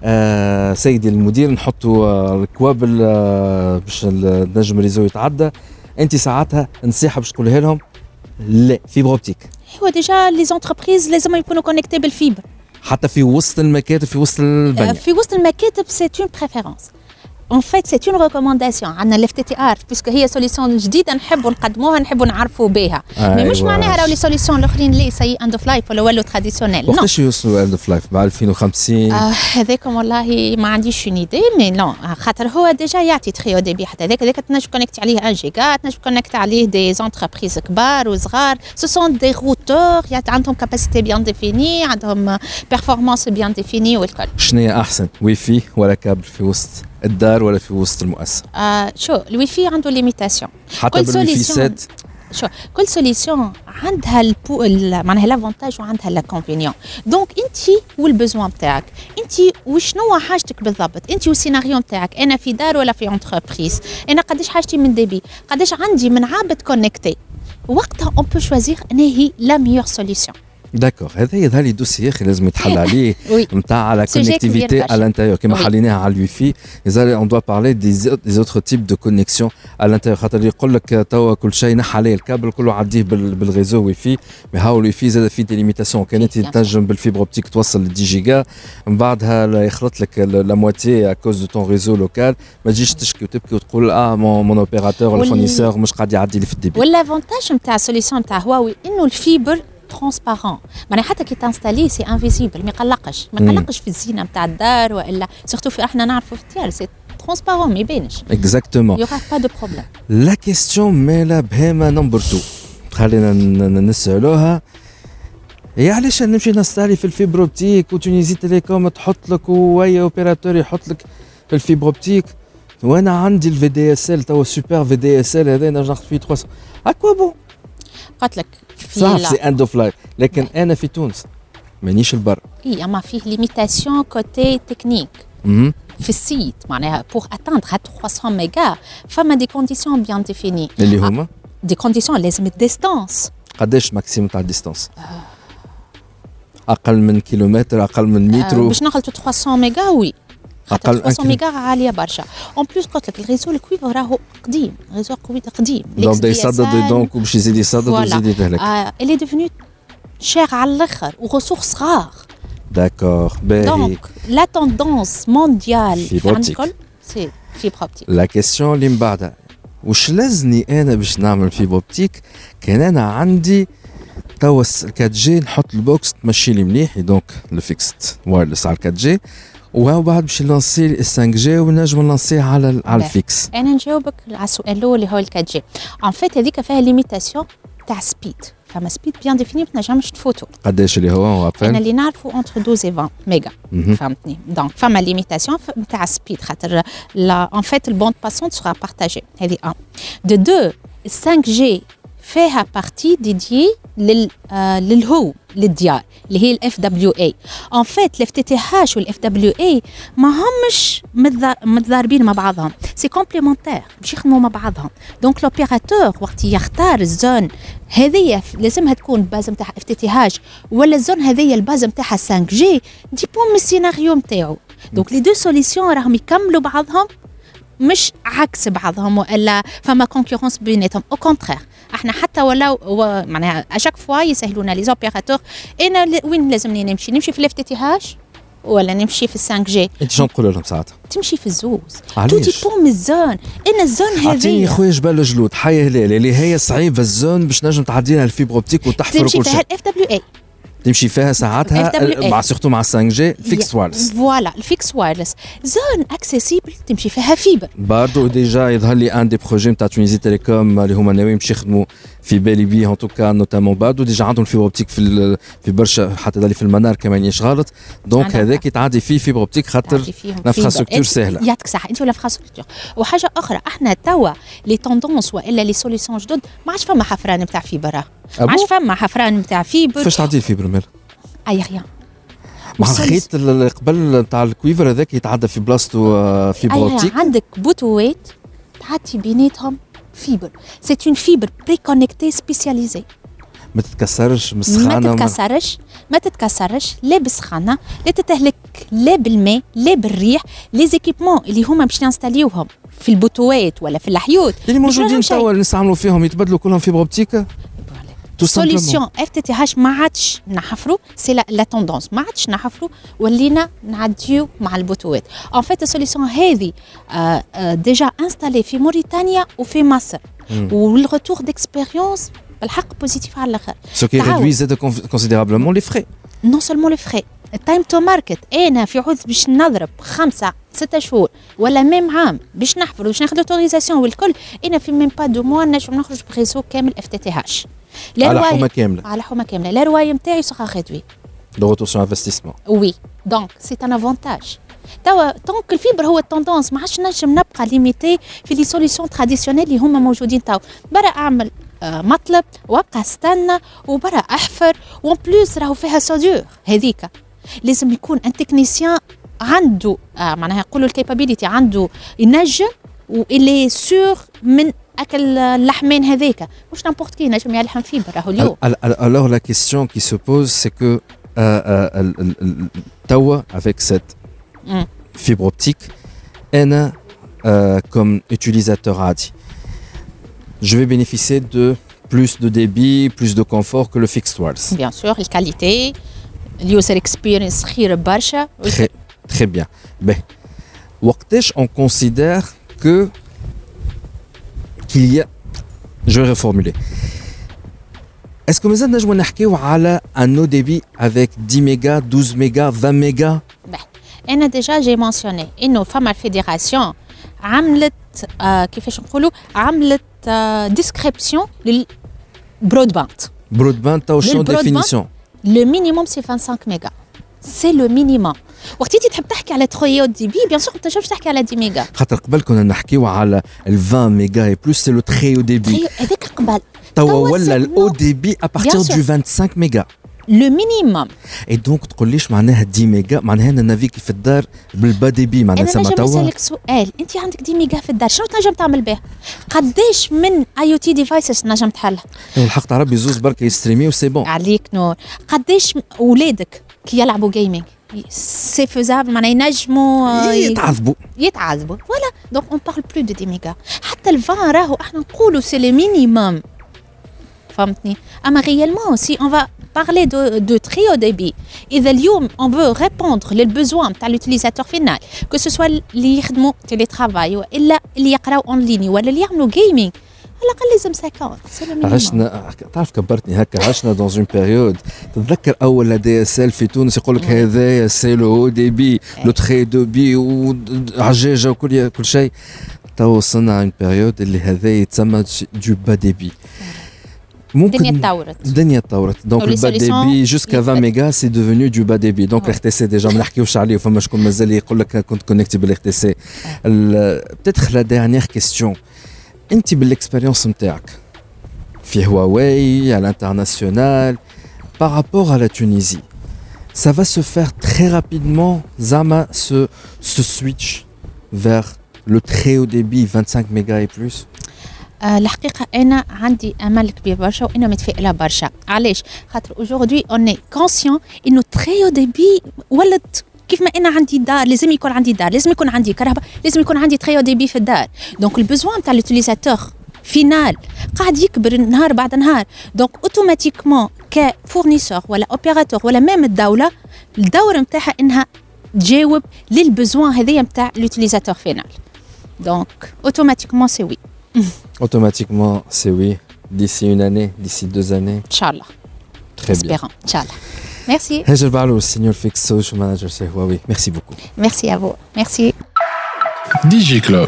آه سيدي المدير نحطوا آه الكوابل آه باش النجم ريزو يتعدى، انت ساعتها نصيحه باش تقولها لهم لا فيبر اوبتيك.
هو ديجا لي زونتربريز لازم يكونوا كونيكتي بالفيبر
حتى في وسط المكاتب في وسط البنية.
في وسط المكاتب سي اون بريفيرونس. En fait, c'est une recommandation. عندنا ال إف تي تي آر puisque هي سوليسيون جديدة نحبوا نقدموها نحبوا نعرفوا بها. مي مش معناها راهو لي سوليسيون الاخرين لي سي اند اوف لايف ولا ولو تراديسيونيل.
وقتاش يوصلوا اند اوف لايف مع ألفين وخمسين؟
هذاكم والله ما عنديش اون ايدي مي نو خاطر هو ديجا يعطي تري او دي بي حتى هذاك هذاك تنجم كونيكتي عليه واحد جيجا، تنجم كونيكتي عليه دي زونتربريز كبار وصغار. سو سون دي روتور عندهم كاباسيتي بيان ديفيني، عندهم بيرفورمانس بيان ديفيني والكل.
شنو احسن واي فاي ولا كابل في وسط الدار ولا في وسط المؤسسة؟
آه شو الواي فاي عنده ليميتاسيون.
حتى بالواي سات
شو كل سوليسيون عندها البو معناها لافونتاج وعندها لاكونفينيون. دونك انت والبزوان نتاعك، انت وشنو حاجتك بالضبط، انت والسيناريو نتاعك. انا في دار ولا في انتربريز، انا قداش حاجتي من ديبي، قداش عندي من عابد كونيكتي، وقتها اون بو شوازيغ ان هي لا ميور سوليسيون.
داكور هذا يظهر لي دوسي اخي لازم يتحل عليه نتاع لا كونيكتيفيتي à l'intérieur كما حليناها على الوي في. يظهر اون دوا بارلي دي دي اوتر تيب دو كونيكسيون à l'intérieur خاطر يقول لك توا كل شيء نحى عليه الكابل كله عديه بالريزو وي في. مي هاو الوي في زاد في دي ليميتاسيون كانت تنجم بالفيبر اوبتيك توصل ل عشرة جيجا من بعدها يخلط لك لا موتي ا كوز دو طون ريزو لوكال. ما تجيش تشكي وتبكي وتقول اه مون اوبيراتور ولا فورنيسور مش قاعد يعدي لي في الديبي.
والافونتاج نتاع السوليسيون نتاع هواوي انه الفيبر ترانسبارون، معناها حتى كي تانستالي سي انفيزيبل، ما يقلقش ما يقلقش في الزينه نتاع الدار والا سورتو في احنا نعرفوا في الديار سي ترانسبارون ما يبانش
اكزاكتومون.
يوغا با دو بروبليم.
لا كيستيون مالا بهيمه نمبر اثنين خلينا نسالوها، يا علاش نمشي نستعلي في الفيبر اوبتيك وتونيزي تيليكوم تحط لك واي اوبيراتور يحط لك في الفيبر اوبتيك وانا عندي الفي دي اس ال توا سوبر في دي اس ال هذا نجم فيه ثلاثمية اكوا بون.
قلت لك
صح سي اند اوف لايف، لكن انا في تونس مانيش البر.
اي اما فيه ليميتاسيون كوتي تكنيك في السيت معناها بور اتاندر ثلاثمية ميجا فما دي كونديسيون بيان ديفيني
اللي هما
دي كونديسيون لازم الديستانس.
قداش ماكسيموم تاع الديستانس؟ اقل من كيلومتر اقل من متر
باش نخلطوا ثلاثمية ميجا وي
اقل
ثلاثمية ميجا عاليه برشا. اون بليس قلت لك الريزو الكويفر راهو قديم، الريزو قوي قديم
دونك بدا يصدد دونك باش يزيد يصدد ويزيد يتهلك.
اللي ديفنو شير على الاخر وغسوخ صغار.
داكور باهي.
دونك لا توندونس مونديال
فيبر اوبتيك
سي فيبر اوبتيك.
لا كيسيون اللي من بعدها واش لازني انا باش نعمل فيبر اوبتيك كان انا عندي توا أربعة جي نحط البوكس تمشي لي مليح دونك لو فيكست وايرلس على أربعة جي وهو بعد باش نلانسي ال خمسة جي ونجم نلانسيه على على الفيكس.
انا نجاوبك على السؤال الاول اللي هو ال أربعة جي. ان فيت هذيك فيها ليميتاسيون تاع سبيد، فما سبيد بيان ديفيني ما تنجمش تفوتو.
قداش اللي هو
انا اللي نعرفو انتر اثناش و عشرين ميجا فهمتني. دونك فما ليميتاسيون تاع سبيد خاطر لا ان فيت البوند باسونت سورا بارتاجي هذه ان دو دو. ال خمسة جي فيها بارتي ديديي لل آه للهو للديار اللي هي الاف دبليو اي. ان فيت الاف تي تي هاش والاف دبليو اي ما همش متضاربين مع بعضهم، سي كومبليمونتير باش يخدموا مع بعضهم. دونك لوبيراتور وقت يختار الزون هذه لازمها تكون باز نتاع اف تي تي هاش ولا الزون هذه الباز نتاعها خمسة جي ديبون من السيناريو نتاعو. دونك لي دو سوليسيون راهم يكملوا بعضهم مش عكس بعضهم والا فما كونكورونس بيناتهم. او كونترير احنا حتى ولو معناها اشاك فوا يسهلونا لي زوبيراتور انا وين لازمني نمشي نمشي في الاف تي تي هاش ولا نمشي في خمسة جي.
انت شنو تقول لهم ساعتها؟
تمشي في الزوز تو ديبون من الزون. انا الزون هذه
عطيني خويا جبال الجلود حي هلال اللي هي صعيبه الزون باش نجم تعدينا الفيبر اوبتيك وتحفر كل شيء.
تمشي فيها الاف دبليو اي
تمشي فيها ساعتها مع سورتو مع خمسة جي فيكس وايرلس.
فوالا الفيكس وايرلس زون اكسيسيبل تمشي فيها فيبر.
برضو ديجا يظهر لي ان دي بروجي نتاع تونيزي تيليكوم اللي هما ناويين باش يخدموا في بالي بي ان توكا نوتامون برضو ديجا عندهم فيبر اوبتيك في في برشا حتى دالي في المنار كمان يشغلط. دونك هذاك يتعدي فيه فيبر اوبتيك خاطر الانفراستركتور سهله.
يعطيك صح انت ولا انفراستركتور. وحاجه اخرى احنا توا لي توندونس والا لي سوليسيون جدد ما عادش فما حفران نتاع فيبر، ما عادش فما حفران نتاع فيبر.
فاش تعدي الفيبر مال
اي ريان
مع الخيط قبل نتاع الكويفر هذاك يتعدى في بلاصتو فيبر اوبتيك.
عندك بوتوات تعدي بيناتهم فيبر. سي اون فيبر بري كونيكتي سبيسياليزي.
ما تتكسرش من
ما
السخانه
تتكسرش ما تتكسرش لا بالسخانه لا تتهلك لا بالماء لا بالريح لي زيكيبمون اللي هما باش نستاليوهم في البوتوات ولا في الحيوت
اللي موجودين توا اللي نستعملوا فيهم يتبدلوا كلهم فيبر اوبتيك.
سوليسيون اف تي تي هاش ما عادش نحفروا سي لا توندونس ما عادش نحفروا ولينا نعديو مع البوتوات. ان فيت السوليسيون هذه ديجا انستالي في موريتانيا وفي مصر والريتور ديكسبيريونس بالحق بوزيتيف على الاخر.
سو كي ريدويز كونسيديرابلمون لي فري
نون سولمون لي فري التايم تو ماركت. انا في عوض باش نضرب خمسه ستة شهور ولا ميم عام باش نحفر باش ناخذ اوتوريزاسيون والكل انا في ميم با دو موا نجم نخرج بريزو كامل اف تي تي هاش
على حومه كامله
على حومه كامله. لا روايه نتاعي سوغا ريدوي
دو روتور سو انفستيسمون.
وي دونك سي ان افونتاج. توا طونك الفيبر هو التوندونس ما عادش نجم نبقى ليميتي في لي سوليسيون تراديسيونيل اللي هما موجودين توا. برا اعمل آه مطلب وابقى استنى وبرا احفر وان بلوس راهو فيها سودور هذيك. لازم يكون ان تكنيسيان عنده آه معناها يقولوا الكابابيليتي عنده ينجم واللي سور من اكل اللحمين هذيك مش نامبورت كي نجم يلحم فيبر راهو اليوم.
Alors la question qui se pose c'est que توا avec cette fibre optique انا comme utilisateur عادي je vais bénéficier de plus de débit, plus de confort que le fixed wireless.
Bien sûr, la qualité, le user experience خير برشا.
Très, très bien. Ben, وقتاش on considère que qu'il y a, je vais reformuler. Est-ce que مازال نجمو نحكيو على un haut débit avec dix mégas, douze mégas, vingt mégas?
Ben, أنا déjà j'ai mentionné إنه فما الفيدراسيون عملت آه كيفاش نقولوا عملت آه ديسكريبسيون للبرودباند.
برودباند تاو شنو ديفينيسيون؟
لو مينيموم سي خمسة وعشرين ميجا. سي لو مينيموم. وقت انت تحب تحكي على تخيو دي بي بيان سور ما تنجمش تحكي على عشرة ميجا.
خاطر قبل كنا نحكيو على ال vingt ميجا اي بلوس سي لو تري او دي بي.
هذاك قبل.
توا ولا الاو دي بي ا بارتير دو خمسة وعشرين ميجا.
لو مينيموم.
اي دونك تقوليش معناها عشرة ميجا معناها انا نافيكي في الدار بالبا دي بي معناها سما توا.
انا نجم نسالك سؤال انت عندك عشرة ميجا في الدار شنو تنجم تعمل به؟ قداش من اي او تي ديفايسز نجم تحلها؟
الحق تاع ربي زوز برك يستريمي وسي بون.
عليك نور. قداش اولادك كي يلعبوا جيمنج سي فيزابل معناها ينجموا
يتعذبوا
يتعذبوا فوالا دونك اون بارل بلو دو عشرة ميجا. حتى ال عشرين راهو احنا نقولوا سي لي مينيموم فهمتني. اما ريالمون سي اون فا parler de, de très haut débit. إذا اليوم on veut répondre للbesoin تاع l'utilisateur final que ce soit اللي يخدموا télétravail وإلا اللي يقراو en ligne ولا اللي يعملوا gaming على الأقل لازم خمسين.
عشنا تعرف كبرتني هكا عشنا dans une période تتذكر أول دي اس ال في تونس يقول لك هذايا سي لو هو ديبي لو تري دوبي وعجاجة وكل كل شيء. تو وصلنا une période اللي هذايا يتسمى du bas débit.
الدنيا تطورت
الدنيا تطورت دونك البا ديبي جوسكا vingt ميجا سي ديفونو دو با ديبي دونك الار تي سي ديجا ما نحكيوش عليه فما شكون مازال يقول لك كنت كونيكتي بالار تي سي. بتيتخ لا ديرنيير كيستيون انت بالاكسبيريونس نتاعك في هواوي على الانترناسيونال بارابور على تونيزي ça va se faire très rapidement زعما ce ce switch vers le très haut débit vingt-cinq mégas et plus.
أه الحقيقة أنا عندي أمل كبير برشا وأنا متفائلة برشا. علاش؟ خاطر aujourd'hui on est conscient إنه très haut débit ولت كيف ما أنا عندي دار لازم يكون عندي دار لازم يكون عندي كهرباء لازم يكون عندي très haut débit في الدار. دونك البزوان تاع l'utilisateur final قاعد يكبر نهار بعد نهار. دونك اوتوماتيكمون كفورنيسور ولا اوبيراتور ولا ميم الدولة الدور نتاعها إنها تجاوب للبزوان هذيا نتاع l'utilisateur final. دونك اوتوماتيكمون سي وي.
Automatiquement, c'est oui. D'ici une année, d'ici deux années.
Inch'Allah.
Très
Espérons.
bien.
Inch'Allah. Merci.
Hajar Balou, Senior Fix Social Manager chez Huawei. Merci beaucoup.
Merci à vous. Merci.
DigiClub.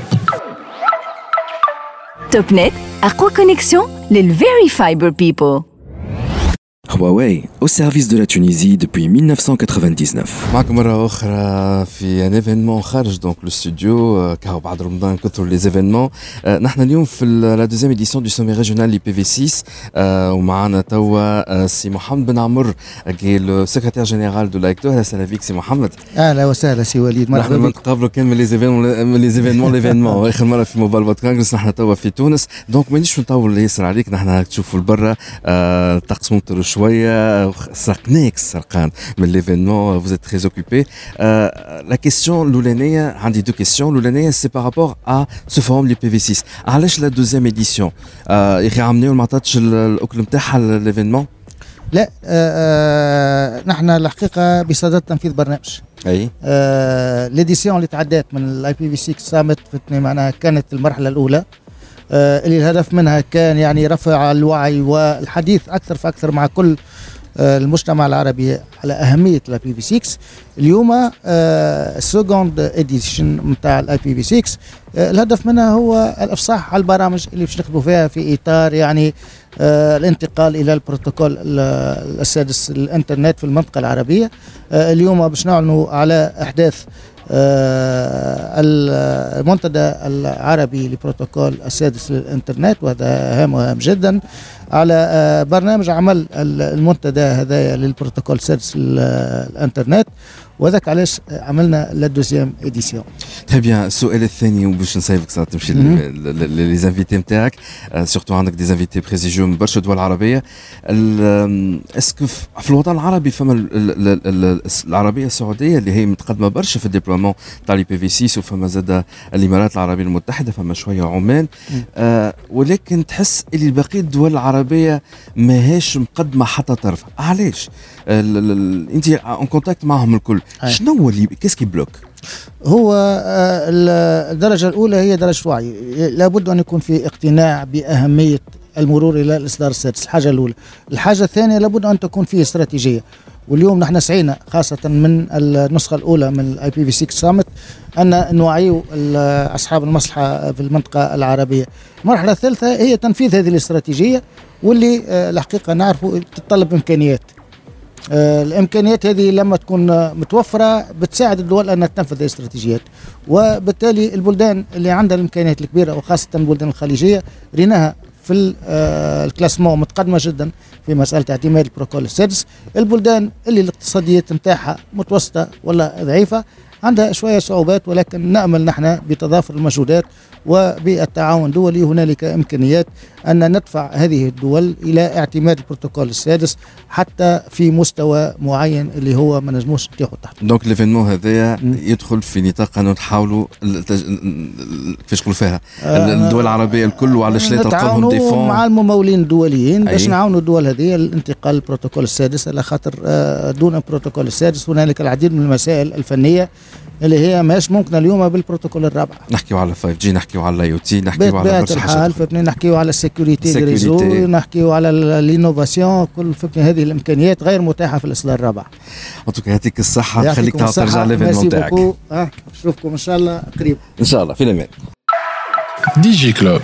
توب نت أقوى كونيكسيون للفيري فايبر بيبل.
Huawei, au service de la Tunisie depuis mille neuf cent quatre-vingt-dix-neuf.
معكم مرة أخرى في ان ايفينمون خارج دونك لو ستوديو كهو بعد رمضان كثروا لي ايفينمون. نحن اليوم في لا دوزيام اديسيون دو سومي ريجيونال لي بي في ستة ومعنا توا سي محمد بن عمر كي لو سكرتير جينيرال دو لايكتو. اهلا وسهلا فيك سي محمد.
اهلا وسهلا سي وليد، مرحبا
بك.
بك.
نتقابلوا كان من لي ايفينمون من لي ايفينمون ليفينمون اخر مره في موبايل وات كونغرس نحن توا في تونس. دونك مانيش نطول ياسر عليك، نحن تشوفوا البرا الطقس ممطر شويه، سرقناك سرقان من ليفينمون. vous êtes très occupé. Euh, la question l'oulanaya, عندي deux questions. L'oulanaya c'est par rapport à ce forum l'I P V six. علاش la deuxième édition يخي عملوا ما عطاتش الاكل نتاعها ليفينمون؟
لا آه نحن الحقيقه بصدد تنفيذ برنامج.
اي
آه ليديسيون اللي تعدات من الاي بي في ستة سامت معناها كانت المرحله الاولى آه اللي الهدف منها كان يعني رفع الوعي والحديث اكثر فاكثر مع كل المجتمع العربي على أهمية الاي بي في ستة. اليوم السكوند اديشن نتاع الاي بي في ستة الهدف منها هو الافصاح على البرامج اللي باش نخدموا فيها في اطار يعني آه الانتقال الى البروتوكول السادس الانترنت في المنطقة العربية. آه اليوم باش نعلنوا على احداث آه المنتدى العربي لبروتوكول السادس للإنترنت، وهذا هام وهام جدا على آه برنامج عمل المنتدى هذا للبروتوكول السادس للإنترنت، وذاك علاش عملنا لا دوزيام اديسيون.
تري بيان. السؤال الثاني وباش نسيبك صار تمشي لي زانفيتي نتاعك، سورتو عندك دي زانفيتي بريزيجيو من برشا دول عربيه. اسكو في الوطن العربي فما العربيه السعوديه اللي هي متقدمه برشا في الديبلومون تاع لي بي في ستة، وفما زاد الامارات العربيه المتحده، فما شويه عمان. آه ولكن تحس اللي بقيه الدول العربيه ماهيش مقدمه حتى طرف. علاش؟ انت اون كونتاكت معهم الكل، شنو هو اللي كيسكي بلوك؟
هو الدرجة الأولى هي درجة وعي، لابد أن يكون في اقتناع بأهمية المرور إلى الإصدار السادس، الحاجة الأولى. الحاجة الثانية لابد أن تكون فيه استراتيجية، واليوم نحن سعينا خاصة من النسخة الأولى من الاي بي في ستة سامت أن نوعي أصحاب المصلحة في المنطقة العربية. المرحلة الثالثة هي تنفيذ هذه الاستراتيجية، واللي الحقيقة نعرفوا تتطلب إمكانيات. آه الامكانيات هذه لما تكون متوفره بتساعد الدول انها تنفذ الاستراتيجيات، وبالتالي البلدان اللي عندها الامكانيات الكبيره وخاصه البلدان الخليجيه ريناها في آه الكلاسمون متقدمه جدا في مساله اعتماد البروتوكول السادس. البلدان اللي الاقتصاديات نتاعها متوسطه ولا ضعيفه عندها شويه صعوبات، ولكن نامل نحن بتضافر المجهودات وبالتعاون الدولي هنالك امكانيات ان ندفع هذه الدول الى اعتماد البروتوكول السادس حتى في مستوى معين اللي هو ما نجموش نتيحوا تحت.
دونك ليفينمون هذايا يدخل في نطاق انه نحاولوا كيفاش نقولوا فيها الدول العربيه الكل، وعلاش لا تلقى لهم ديفون
مع الممولين الدوليين باش نعاونوا الدول هذه للانتقال للبروتوكول السادس، على خاطر دون البروتوكول السادس هنالك العديد من المسائل الفنيه اللي هي ماش ممكن اليوم بالبروتوكول الرابع.
نحكيو على فايف جي، نحكيو على الاي او تي، نحكيو على برشا حاجات،
فهمتني، نحكيو على السيكوريتي دي ريزو، نحكيو على الانوفاسيون، كل فهمتني هذه الامكانيات غير متاحه في الاصدار الرابع.
انتوك يعطيك الصحه، خليك ترجع ليفينمون تاعك.
اه نشوفكم ان شاء الله قريب
ان شاء الله. في الامان.
دي جي كلوب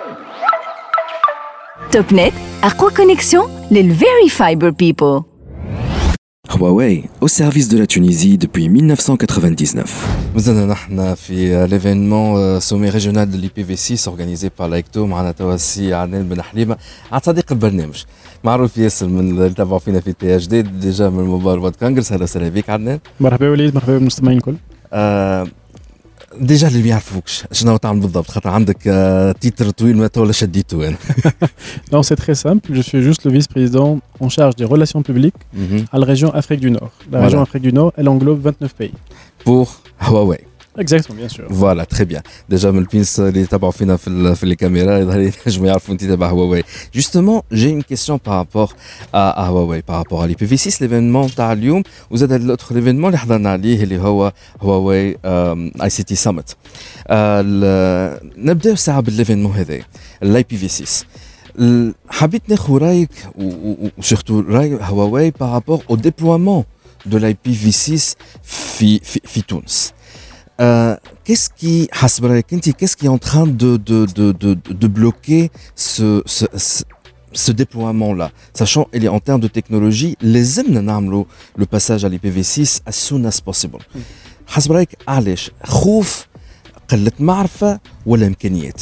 توب نت، اقوى كونيكسيون للفيري فايبر بيبل.
Huawei, au service de la Tunisie depuis mille neuf cent quatre-vingt-dix-neuf.
مازلنا نحن في ليفينمون سومي ريجيونال دو لي بي في ستة اورغانيزي بار لايكتو. معنا توا السي عدنان بن حليمه، عاد صديق البرنامج معروف ياسر من اللي تابعوا فينا في تي اش دي ديجا من موبايل وات كونغرس. اهلا وسهلا بك عدنان.
مرحبا وليد، مرحبا بالمستمعين الكل.
آه ديجا اللي ما يعرفوكش شنو تعمل بالضبط، خاطر عندك آه تيتر طويل ما ولا شديته انا.
Non, c'est très simple. Je suis juste le vice-président en charge des relations publiques
mm-hmm.
à la région Afrique du Nord. La voilà. région Afrique du Nord, elle englobe vingt-neuf pays.
Pour Huawei.
Exactement, bien sûr.
Voilà, très bien. Déjà, من البينس اللي تابعوا فينا في في الكاميرا يظهر ينجموا يعرفوا انت تابع Huawei. Justement, j'ai une question par rapport à, à Huawei, par rapport à l'I P V six, l'événement تاع اليوم، وزاد l'autre événement اللي حضرنا عليه اللي هو Huawei اي سي تي Summit. نبداو ساعه بالايفينمون هذا الاي بي في ستة. حبيت ناخذ رايك وسورتو راي هواوي بارابور او ديبلويمون دو لاي بي في ستة في في في تونس. Euh, qu'est-ce qui, qu'est-ce qui est en train de, de, de, de, de bloquer ce, ce, ce déploiement-là, sachant qu'il est en termes de technologie, les hommes le passage à l'I P v six as soon as possible. حسب رأيك علاش خوف قلة معرفة ولا إمكانيات؟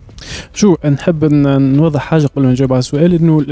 شو نحب نوضح حاجه قبل ما نجاوب على السؤال انه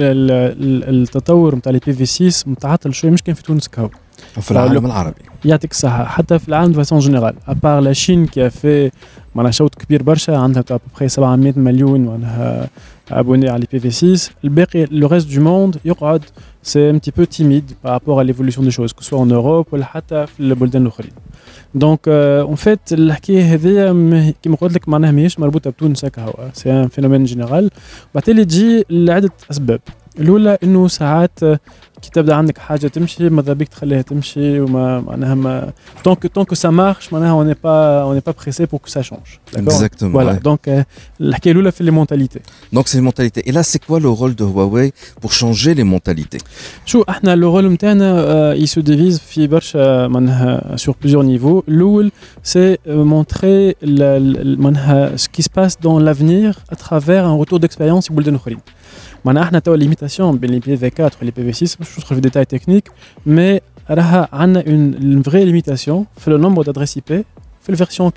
التطور نتاع لي بي في ستة متعطل شويه مش كان في تونس كهو
في العالم العربي
يعطيك الصحه حتى في العالم فاسون جينيرال ابار لا شين كي في معناها شوط كبير برشا عندها تاع بخي سبعمية مليون معناها abonnés à l'I P v six الباقي le reste du monde يقعد c'est un petit peu timide par rapport à l'évolution des choses que ce soit en Europe ولا حتى في البلدان الاخرين دونك اون فيت الحكايه هذيا كيما قلت لك معناها ماهيش مربوطه بتونس هكا هو سي ان فينومين جينيرال وبالتالي تجي لعده اسباب الاولى انه ساعات كي تبدا عندك حاجه تمشي ماذا بيك تخليها تمشي وما معناها ما طونك طونك سا مارش معناها اون با اون با بريسي بور كو سا شونج
اكزاكتومون
فوالا دونك الحكايه الاولى في لي مونتاليتي
دونك سي مونتاليتي اي لا سي كوا لو رول دو هواوي بور شونجي لي مونتاليتي
شو احنا لو رول نتاعنا اي سو ديفيز في برشا معناها سور بليزيور نيفو الاول سي مونتري معناها سو كي سباس دون لافنير ا ترافير ان روتور ديكسبيريونس بلدان اخرين معناها احنا تو ليميتاسيون بين لي بي في أربعة و لي بي في ستة باش ندخل في ديتاي تكنيك مي راها عندنا اون فري ليميتاسيون في لو نومبر دادريس اي بي في الفيرسيون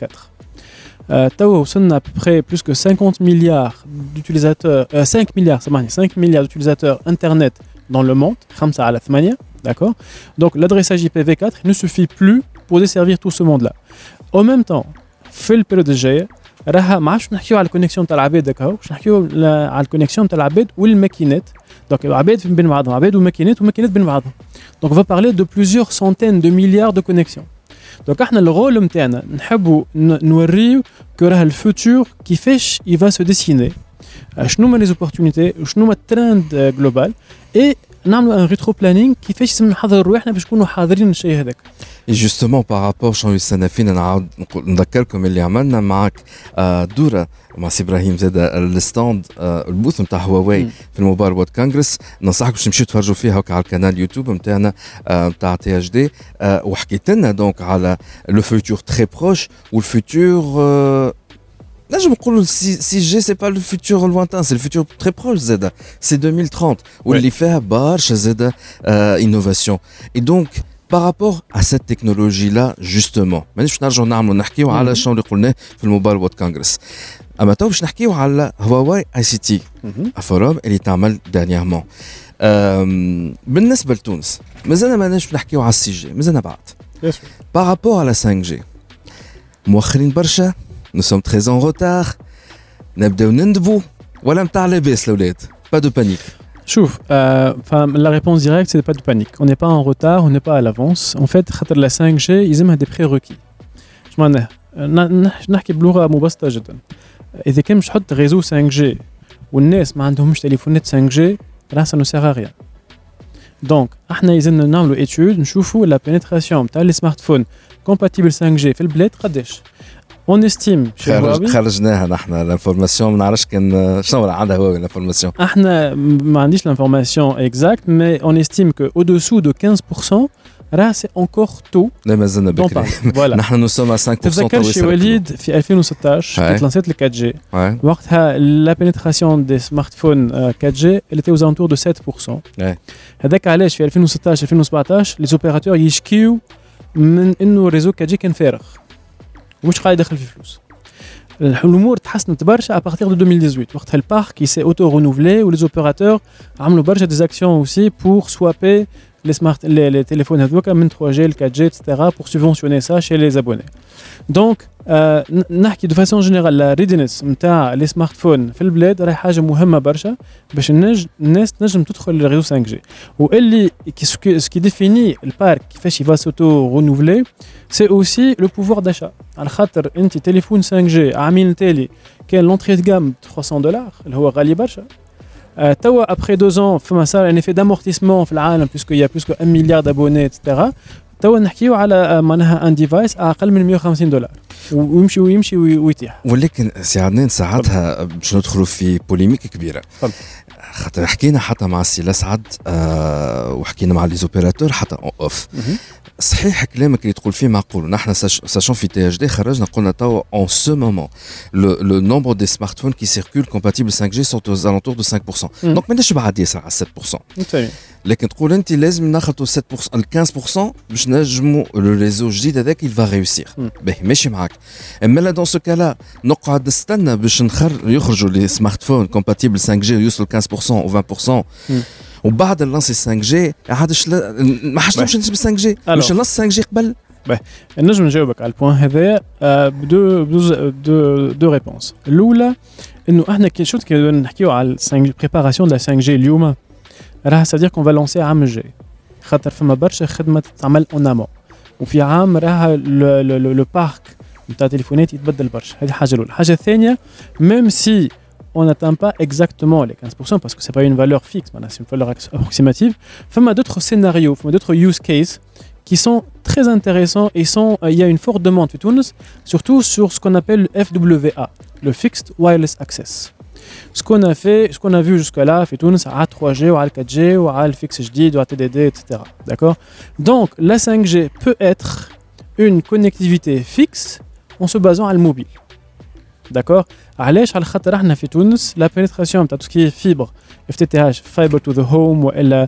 أربعة تو وصلنا ابري بلوس كو خمسين مليار دوتيليزاتور خمسة مليار سامحني خمسة مليار دوتيليزاتور انترنت dans le monde خمسة على ثمانية d'accord donc l'adressage I P v quatre ne suffit plus pour desservir tout ce monde là en même temps في البيريود الجايه راها ما عادش نحكيو على الكونيكسيون تاع العباد هكا باش نحكيو على الكونيكسيون تاع العباد والماكينات دونك العباد بين بعضهم عباد وماكينات وماكينات بين بعضهم دونك on va parler de plusieurs centaines de milliards de connexions دونك احنا الرول نتاعنا نحبوا نوريو كو راه الفوتور كيفاش il va se dessiner شنو هما لي زوبورتونيتي وشنو هما الترند جلوبال اي نعملوا ان ريترو بلانينغ كيفاش لازم نحضروا روحنا باش نكونوا حاضرين الشيء هذاك.
Et justement par rapport شنو السنافين نعاود نذكركم اللي عملنا معك دوره مع سي ابراهيم زاد الستاند البوث نتاع هواوي في الموبايل وورد كونغرس ننصحكم باش تمشيو تفرجوا فيها هكا على القناه اليوتيوب نتاعنا نتاع تي اتش دي وحكيت لنا دونك على لو فيتور تري بروش والفيتور نجم نقولوا سي جي سي با لو فيتور لوانتان سي لو فيتور تري بروش زاده سي deux mille trente واللي فيها برشا زاده انوفاسيون اي دونك par rapport à cette technologie-là, justement, مانيش نرجعوا نعملوا نحكيوا على شنو اللي قلناه في الموبايل وورد كونغرس. أما تو باش نحكيوا على هواوي اي سي تي فورم اللي تعمل دانييرمون. بالنسبة لتونس مازلنا ماناش نحكيوا على السي جي، مازلنا بعد. par rapport à la cinq G مؤخرين برشا، nous sommes très en retard، نبداو نندبوا ولا متاع لاباس الأولاد، pas de panique.
Chouf, euh, la réponse directe, c'est pas de panique. On n'est pas en retard, on n'est pas à l'avance. En fait, la cinq G, ils aiment des prérequis. Je m'en ai. نحكي بلغة مبسطة جدا. إذا كان مش حط réseau cinq G والناس ما عندهمش تليفونات cinq G, là ça ne sert à rien. Donc, احنا يلزمنا نعملوا étude نشوفوا la pénétration تاع les smartphones compatibles cinq G في البلاد قداش. On estime chez Huawei
خرجناها نحن الانفورماسيون ما نعرفش كان شنو عندها هواوي الانفورماسيون
احنا ما عنديش الانفورماسيون اكزاكت مي on estime que au-dessous de quinze pour cent راه سي انكور تو
لا مازلنا بكري نحن نوصل à cinq pour cent
تذكر شي وليد في ألفين وستطاش كانت لانسيت ال quatre G وقتها لا بينيتراسيون دي سمارت فون quatre G elle était aux alentours de sept pour cent هذاك علاش في ألفين وستطاش ألفين وسبعطاش لي زوبيراتور يشكيو من انه الريزو quatre G كان فارغ ومش قاعد يدخل في فلوس. الامور تحسنت برشا à partir de deux mille dix-huit وقتها البارك qui s'est auto renouvelé و les opérateurs عملوا برشا des actions aussi pour swapper les smart les, les téléphones هذوك من trois G ل quatre G et cetera pour subventionner ça chez les abonnés. Donc euh, نحكي de façon générale la readiness نتاع les smartphones في البلاد راهي حاجه مهمه برشا باش الناس الناس تنجم تدخل للريزو cinq G واللي ce qui définit البارك كيفاش il va s'auto renouveler c'est aussi le pouvoir d'achat. على خاطر انت تليفون cinq G عامين تالي كان l'entrée de gamme trois cents dollars اللي هو غالي برشا. Euh, توا après deux ans فما صار un effet d'amortissement في العالم puisqu'il y a plus que un milliard d'abonnés et cetera. توا نحكيو على معناها ان ديفايس اقل من مية وخمسين دولار ويمشي ويمشي ويتيح.
ولكن سي عدنان ساعتها باش ندخلوا في بوليميك كبيره. طبعا. خاطر حكينا حتى مع السي لسعد آه وحكينا مع لي زوبيراتور حتى اوف. صحيح كلامك اللي تقول فيه معقول. نحن ساشون في تي اتش دي خرجنا قلنا توا en ce moment le le nombre des smartphones qui circulent compatibles cinq G sont aux alentours de cinq pour cent.
Mm.
donc ماناش بعد ياسر على sept pour cent.
طيب.
لكن تقول انت لازم ناخذوا sept pour cent ال quinze pour cent باش نجموا الريزو الجديد هذاك il va réussir.
Mm.
باهي ماشي معاك. اما لا dans ce cas là نقعد نستنى باش نخر يخرجوا لي سمارتفون compatibles cinq G ويوصلوا quinze pour cent ou vingt pour cent. Mm. وبعد اللانسي cinq G عادش ما حاجتهمش نسبة cinq G مش اللانس cinq G قبل.
باهي نجم نجاوبك على البوان هذا بدو دو دو ريبونس. الاولى انه احنا كي شفت كي نحكيو على cinq G بريباراسيون لا cinq G اليوم راه سادير كون فا لونسي عام الجاي خاطر فما برشا خدمه تتعمل اون امون وفي عام راه لو بارك نتاع التليفونات يتبدل برشا. هذه حاجه الاولى. الحاجه الثانيه ميم سي on n'atteint pas exactement les quinze pour cent parce que c'est pas une valeur fixe, c'est une valeur approximative. Il y a d'autres scénarios, il y a d'autres use cases qui sont très intéressants et sont, il y a une forte demande, surtout sur ce qu'on appelle le F W A, le Fixed Wireless Access. Ce qu'on a fait, ce qu'on a vu jusqu'à-là, à trois G, ou à quatre G, ou à le fixe H D, ou à T D D, et cetera. D'accord ? Donc, la cinq G peut être une connectivité fixe en se basant sur le mobile. D'accord. علاش على خاطر احنا في تونس لا بينيتراسيون تاع توسكي فيبر اف تي تي اتش فايبر تو ذا هوم والا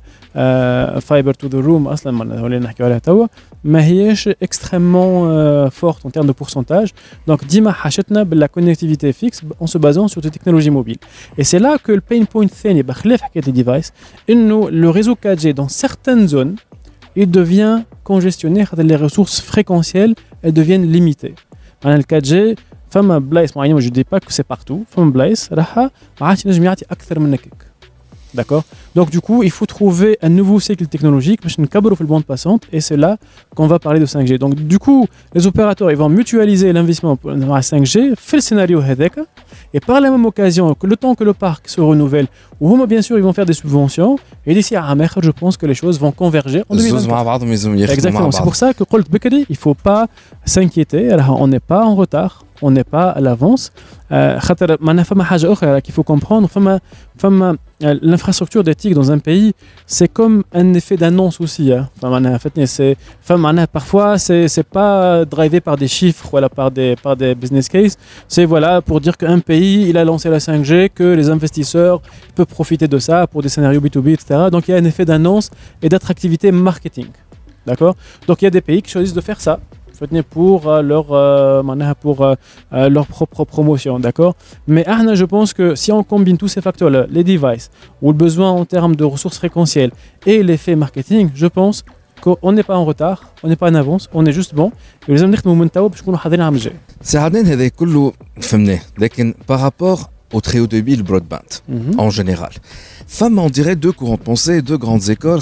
فايبر تو ذا روم اصلا ما ولا نحكيو عليها توا ما هياش اكستريممون فورت ان تيرم دو بورسنتاج. دونك ديما حاجتنا باللا كونيكتيفيتي فيكس اون سو بازون سور دي تكنولوجي موبيل. اي سي لا كو البين بوينت الثاني بخلاف حكايه الديفايس انه لو ريزو quatre G dans certaines zones il devient congestionné خاطر les ressources fréquentielles elles deviennent limitées. معناها ال quatre G فما بلايص معينه جو دي با كو سي بارتو فما بلايص راح ما عادش نجم يعطي اكثر من هكاك. D'accord. Donc du coup, il faut trouver un nouveau cycle technologique باش نكبروا في البوند باسونت et c'est là qu'on va parler de cinq G. Donc du coup, les opérateurs ils vont mutualiser l'investissement dans la cinq G في السيناريو هذاك et par la même occasion que le temps que le parc se renouvelle ou bien sûr ils vont faire des subventions et d'ici à Amer je pense que les choses vont converger en deux mille vingt-quatre. Exactement, c'est pour ça que قلت بكري il faut pas s'inquiéter, on n'est pas en retard. On n'est pas à l'avance. خاطر معنا فما حاجة أخرى qu'il faut comprendre. فما فما l'infrastructure d'éthique dans un pays, c'est comme un effet d'annonce aussi. Hein. Enfin, c'est, enfin, parfois, c'est, c'est pas drivé par des chiffres ou par des, par des business cases. C'est voilà, pour dire qu'un pays, il a lancé la cinq G, que les investisseurs peuvent profiter de ça pour des scénarios B deux B, et cetera. Donc, il y a un effet d'annonce et d'attractivité marketing. D'accord ? Donc, il y a des pays qui choisissent de faire ça pour euh, leur, euh, pour, euh, leur propre promotion, d'accord ? Mais ah, je pense que si on combine tous ces facteurs-là, les devices, ou le besoin en termes de ressources fréquentielles et l'effet marketing, je pense qu'on n'est pas en retard, on n'est pas en avance, on est juste bon. Et les hommes nous montent باش نكونوا حاضرين عام الجاي.
ساعدين هذا كله فهمناه، لكن par rapport au très haut débit, le broadband, mm-hmm. en général. Femme, on dirait deux courants de pensée, deux grandes écoles.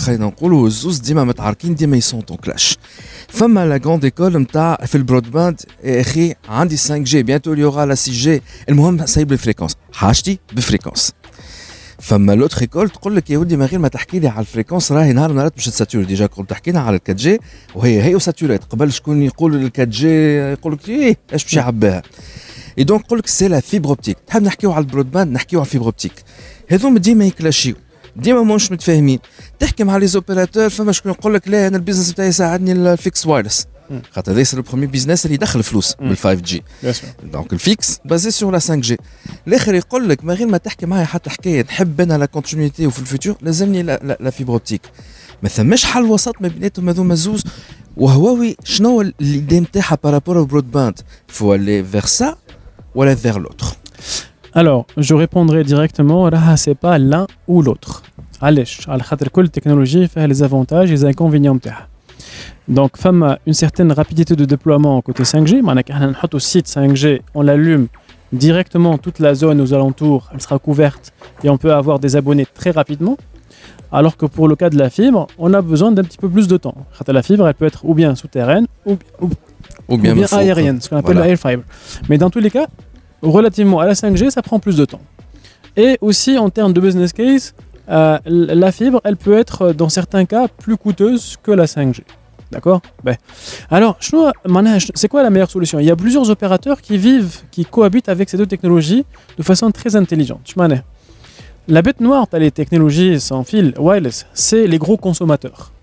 Ils sont en clash. Femme, la grande école, elle fait le broadband, et elle dit cinq G, bientôt il y aura la six G. Et le moment, ça y est, les fréquences. Hachti, les fréquences. Femme, l'autre école, tu dis que Yehudi Maghir m'a t'حكي على الفريكونس راهي نهار نهار باش تساتوري ديجا كنت تحكينا على ال quatre G وهي هي ساتوريت قبل شكون يقول ال quatre G يقول لك ايه ايش باش يعبيها. Et donc, c'est la fibre optique. نحب نحكيو على البرودباند نحكيو على الفيبر اوبتيك. هذوما ديما يكلاشيو. ديما ماهمش متفاهمين. تحكي مع لي زوبيراتور فما شكون يقول لك لا انا البيزنس نتاعي يساعدني الفيكس وايرلس. خاطر هذا سي لو بروميير بيزنس اللي يدخل فلوس بال five G. دونك الفيكس بازي سور لا cinq G. الاخر يقول لك ما غير ما تحكي معايا حتى حكايه نحب انا لا كونتينيتي وفي الفيتور لازمني لا, لا فيبر اوبتيك. ما ثماش حل وسط ما بيناتهم هذوما زوز. وهواوي شنو اللي نتاعها بارابور au broadband faut aller vers ça ou aller vers l'autre.
Alors, je répondrai directement, là, c'est pas l'un ou l'autre. علاش على خاطر كل technologie fait les avantages et les inconvénients نتاعها. Donc, femme une certaine rapidité de déploiement côté cinq G, معناها كي احنا نحطوا site cinq G, on l'allume directement, toute la zone aux alentours, elle sera couverte et on peut avoir des abonnés très rapidement. Alors que pour le cas de la fibre, on a besoin d'un petit peu plus de temps. La fibre, elle peut être ou bien souterraine ou, ou,
ou bien,
ou bien aérienne, ce qu'on appelle voilà. le air fiber. Mais dans tous les cas, relativement à la cinq G, ça prend plus de temps. Et aussi, en termes de business case, euh, la fibre, elle peut être, dans certains cas, plus coûteuse que la cinq G. D'accord ? Ben. Alors, c'est quoi la meilleure solution ? Il y a plusieurs opérateurs qui vivent, qui cohabitent avec ces deux technologies de façon très intelligente. La bête noire, tu as les technologies sans fil, wireless, c'est les gros consommateurs.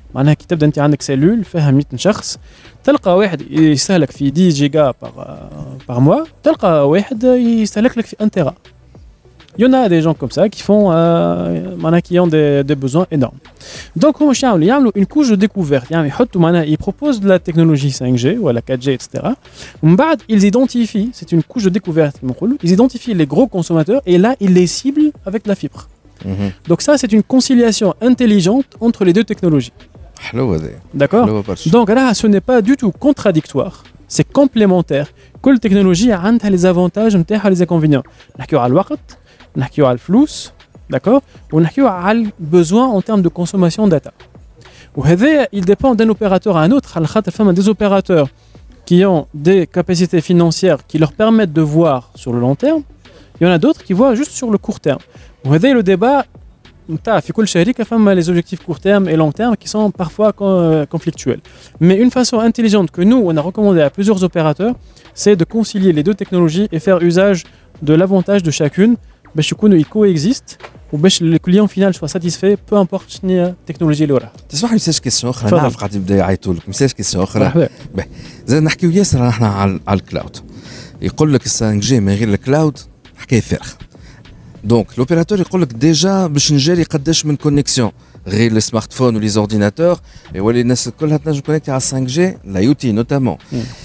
معناها كي تبدا انت عندك سيلول فيها مية شخص تلقى واحد يستهلك في عشرة جيجا بار بار موا تلقى واحد يستهلك لك في un تيرا. Il y en a des gens comme ça qui font euh, qui ont des, des besoins énormes. Donc هما واش يعملوا يعملوا une couche de découverte يعني يحطوا معناها ils proposent de la technologie cinq G ou la quatre G et cetera. ومن بعد ils identifient c'est une couche de découverte كما نقولوا ils identifient les gros consommateurs et là ils les ciblent avec la fibre. Mm-hmm. Donc ça c'est une conciliation intelligente entre les deux technologies. D'accord. Donc là, ce n'est pas du tout contradictoire, c'est complémentaire. Quelle technologie a les avantages et les inconvénients. On a le temps, on a le flux, d'accord. On a le besoin en termes de consommation de data. Et il dépend d'un opérateur à un autre. Il y a des opérateurs qui ont des capacités financières qui leur permettent de voir sur le long terme. Il y en a d'autres qui voient juste sur le court terme. Et le débat. في كل شركة فما les objectifs court terme et long terme qui sont parfois conflictuels. Mais une façon intelligente que nous, on a recommandé à plusieurs opérateurs, c'est de concilier les deux technologies et faire usage de l'avantage de chacune باش يكونوا coexistent وباش le client final soit satisfait peu importe شنو التكنولوجيا اللي وراها.
تسمح لي مساج كيسيون أخرى نعرف قاعد يبدا يعيطوا لك مساج كيسيون أخرى. زين نحكيو ياسر احنا على الكلاود. يقول لك cinq G من غير الكلاود حكاية فارغة. Donc l'opérateur يقول لك déjà باش نجري قداش من كونيكسيون غير لي سمارت فون ولي زورديناتور ولا الناس كلها تنجم كونيكتي على cinq G لا يوتي نوتامون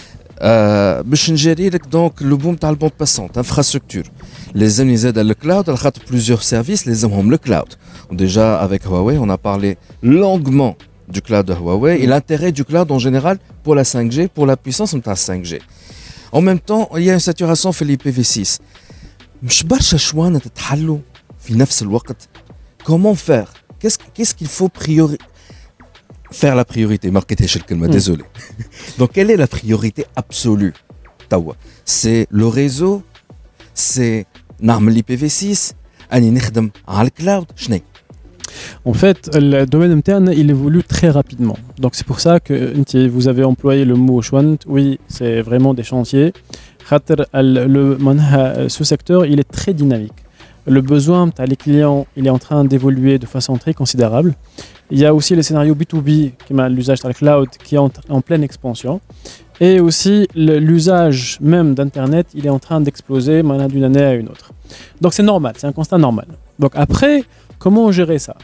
باش نجري لك دونك لو بوم تاع البوند باسونت انفراستركتور لازمني زاد الكلاود على خاطر بليزيور سيرفيس لازمهم الكلاود. Déjà avec Huawei on a parlé longuement du cloud de Huawei et l'intérêt du cloud en général pour la cinq G pour la puissance نتاع cinq G. En même temps il y a une saturation في l'I P V six. مش برشا شوانة تتحلوا في نفس الوقت. Comment faire? Qu'est-ce qu'est-ce qu'il faut priori faire la priorité? Marquez-moi le calme, désolé. Donc quelle est la priorité absolue? توا c'est le réseau, c'est نعمل l'I P V six, أني نخدم على الكلاود شنو؟
En fait, le domaine interne, il évolue très rapidement. Donc c'est pour ça que vous avez employé le mot chouant. Oui, c'est vraiment des chantiers. Le, ce secteur, il est très dynamique. Le besoin les clients, il est en train d'évoluer de façon très considérable. Il y a aussi le scénario B deux B, qui m'a l'usage de la cloud, qui est en, en pleine expansion. Et aussi l'usage même d'Internet, il est en train d'exploser d'une année à une autre. Donc c'est normal, c'est un constat normal. Donc après, comment gérer ça?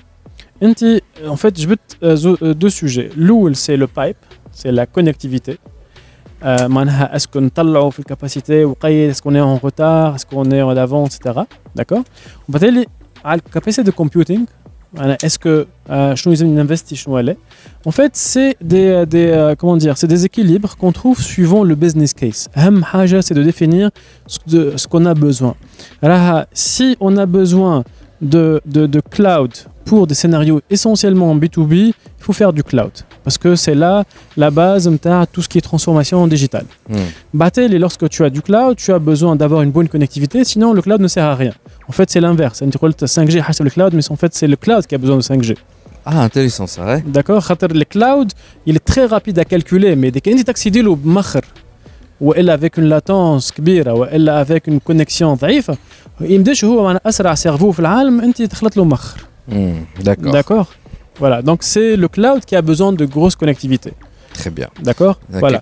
En fait, je veux deux sujets. L'où c'est le pipe, c'est la connectivité. معناها اسكو نطلعوا في الكاباسيتي وقيد اسكو ني اون روتار اسكو ني اون افون اكسترا داكور وبالتالي على الكاباسيتي دو كومبيوتينغ معناها اسكو شنو لازم ننفستي شنو لا en fait c'est des des comment dire c'est des équilibres qu'on trouve suivant le business case. اهم حاجه c'est de définir ce, de, ce qu'on a besoin. Alors si on a besoin de de de cloud pour des scénarios essentiellement B deux B, il faut faire du cloud. Parce que c'est là la base de tout ce qui est transformation digitale. Mm. Lorsque tu as du cloud, tu as besoin d'avoir une bonne connectivité, sinon le cloud ne sert à rien. En fait, c'est l'inverse. cinq G c'est le cloud, mais en fait, c'est le cloud qui a besoin de cinq G.
Ah, intéressant ça, ouais.
D'accord. Le cloud, il est très rapide à calculer, mais dès qu'il t'accède au makhar, ou elle avec une latence كبيرة, ou elle avec une connexion ضعيفة, il me dit que هو أسرع cerveau في العالم, أنت تخلط له مخر.
D'accord.
D'accord. Voilà, donc c'est le cloud qui a besoin de grosses connectivités.
Très bien.
D'accord. Voilà.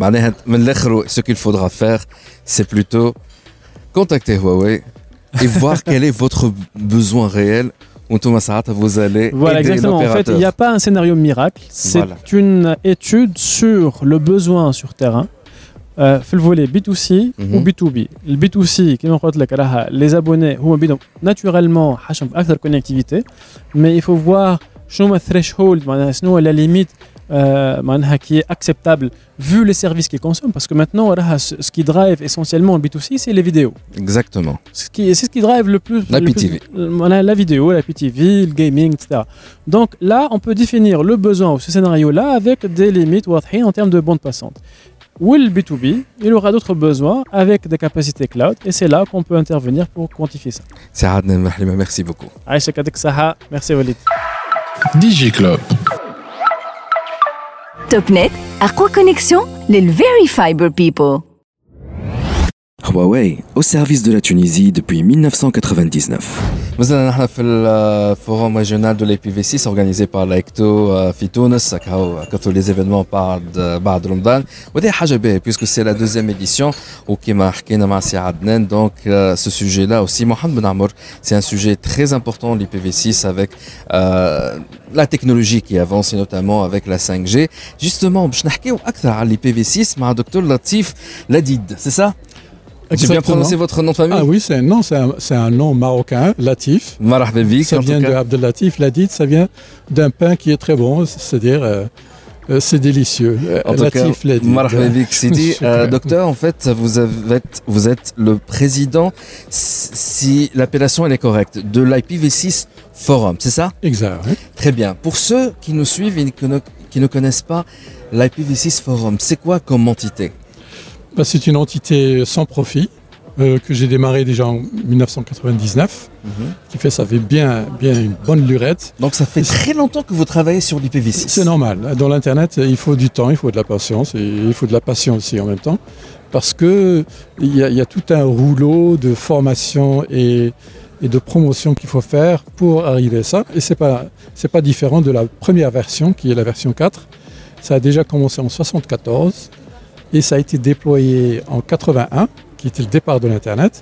Ce qu'il faudra faire, c'est plutôt contacter Huawei et voir quel est votre besoin réel. Vous allez
voilà, exactement. En fait, il n'y a pas un scénario miracle. C'est voilà. une étude sur le besoin sur terrain. Euh, في الفولي بي تو سي و بي تو بي. البي تو سي كما قلت لك راها les abonnés هما بدهم naturellement حاجهم اكثر كونيكتيفيتي mais il faut voir شنو الثريشولد معناها شنو la limite euh, معناها qui est acceptable vu les services qu'ils consomment parce que maintenant راها ce qui drive essentiellement le B two C c'est les vidéos.
Exactement.
Ce qui c'est ce qui drive le plus
la
le
P T V.
معناها la vidéo, la P T V, le gaming et cetera. Donc là on peut définir le besoin ou ce scénario là avec des limites واضحين en termes de bande passante. Ou le B two B, il aura d'autres besoins avec des capacités cloud et c'est là qu'on peut intervenir pour quantifier ça.
C'est Adnan Mahlima, merci beaucoup.
Aïcha Kadek Saha, merci Walid.
D J Club.
Topnet, Aqua Connexion, les Very Fiber People.
Huawei, au service de la Tunisie depuis mille neuf cent quatre-vingt-dix-neuf.
Nous sommes dans le forum régional de l'I P V six organisé par l'AECTO في تونس. Quand les événements parlent بعد رمضان ودي حاجة باهية puisque c'est la deuxième édition وكما حكينا مع سي عدنان donc euh, ce sujet là aussi Mohamed Ben Amour c'est un sujet très important l'I P V six avec euh, la technologie qui avance et notamment avec la cinq G. Justement باش نحكيو أكثر على l'I P V six مع دكتور لطيف لديد, c'est ça? J'ai bien prononcé votre nom de famille?
Ah oui, c'est un nom, c'est un, c'est un nom marocain, Latif.
Marhaba bik,
ça vient de Abdel Latif. Ladid, ça vient d'un pain qui est très bon, c'est-à-dire euh, euh, c'est délicieux.
En Latif, tout cas, Marhaba bik, Sidi. euh, docteur, en fait, vous, avez, vous êtes le président, si l'appellation elle est correcte, de l'I P V six Forum, c'est ça?
Exact. Oui.
Très bien. Pour ceux qui nous suivent et qui ne connaissent pas l'I P V six Forum, c'est quoi comme entité?
Ben, c'est une entité sans profit euh, que j'ai démarrée déjà en mille neuf cent quatre-vingt-dix-neuf, mm-hmm. qui fait ça fait bien, bien une bonne lurette.
Donc ça fait très longtemps que vous travaillez sur l'I P V six.
C'est normal. Dans l'internet, il faut du temps, il faut de la patience et il faut de la passion aussi en même temps, parce que il y a, il y a tout un rouleau de formation et, et de promotion qu'il faut faire pour arriver à ça. Et c'est pas, c'est pas différent de la première version qui est la version quatre. Ça a déjà commencé en soixante-quatorze. Et ça a été déployé en quatre-vingt-un, qui était le départ de l'Internet.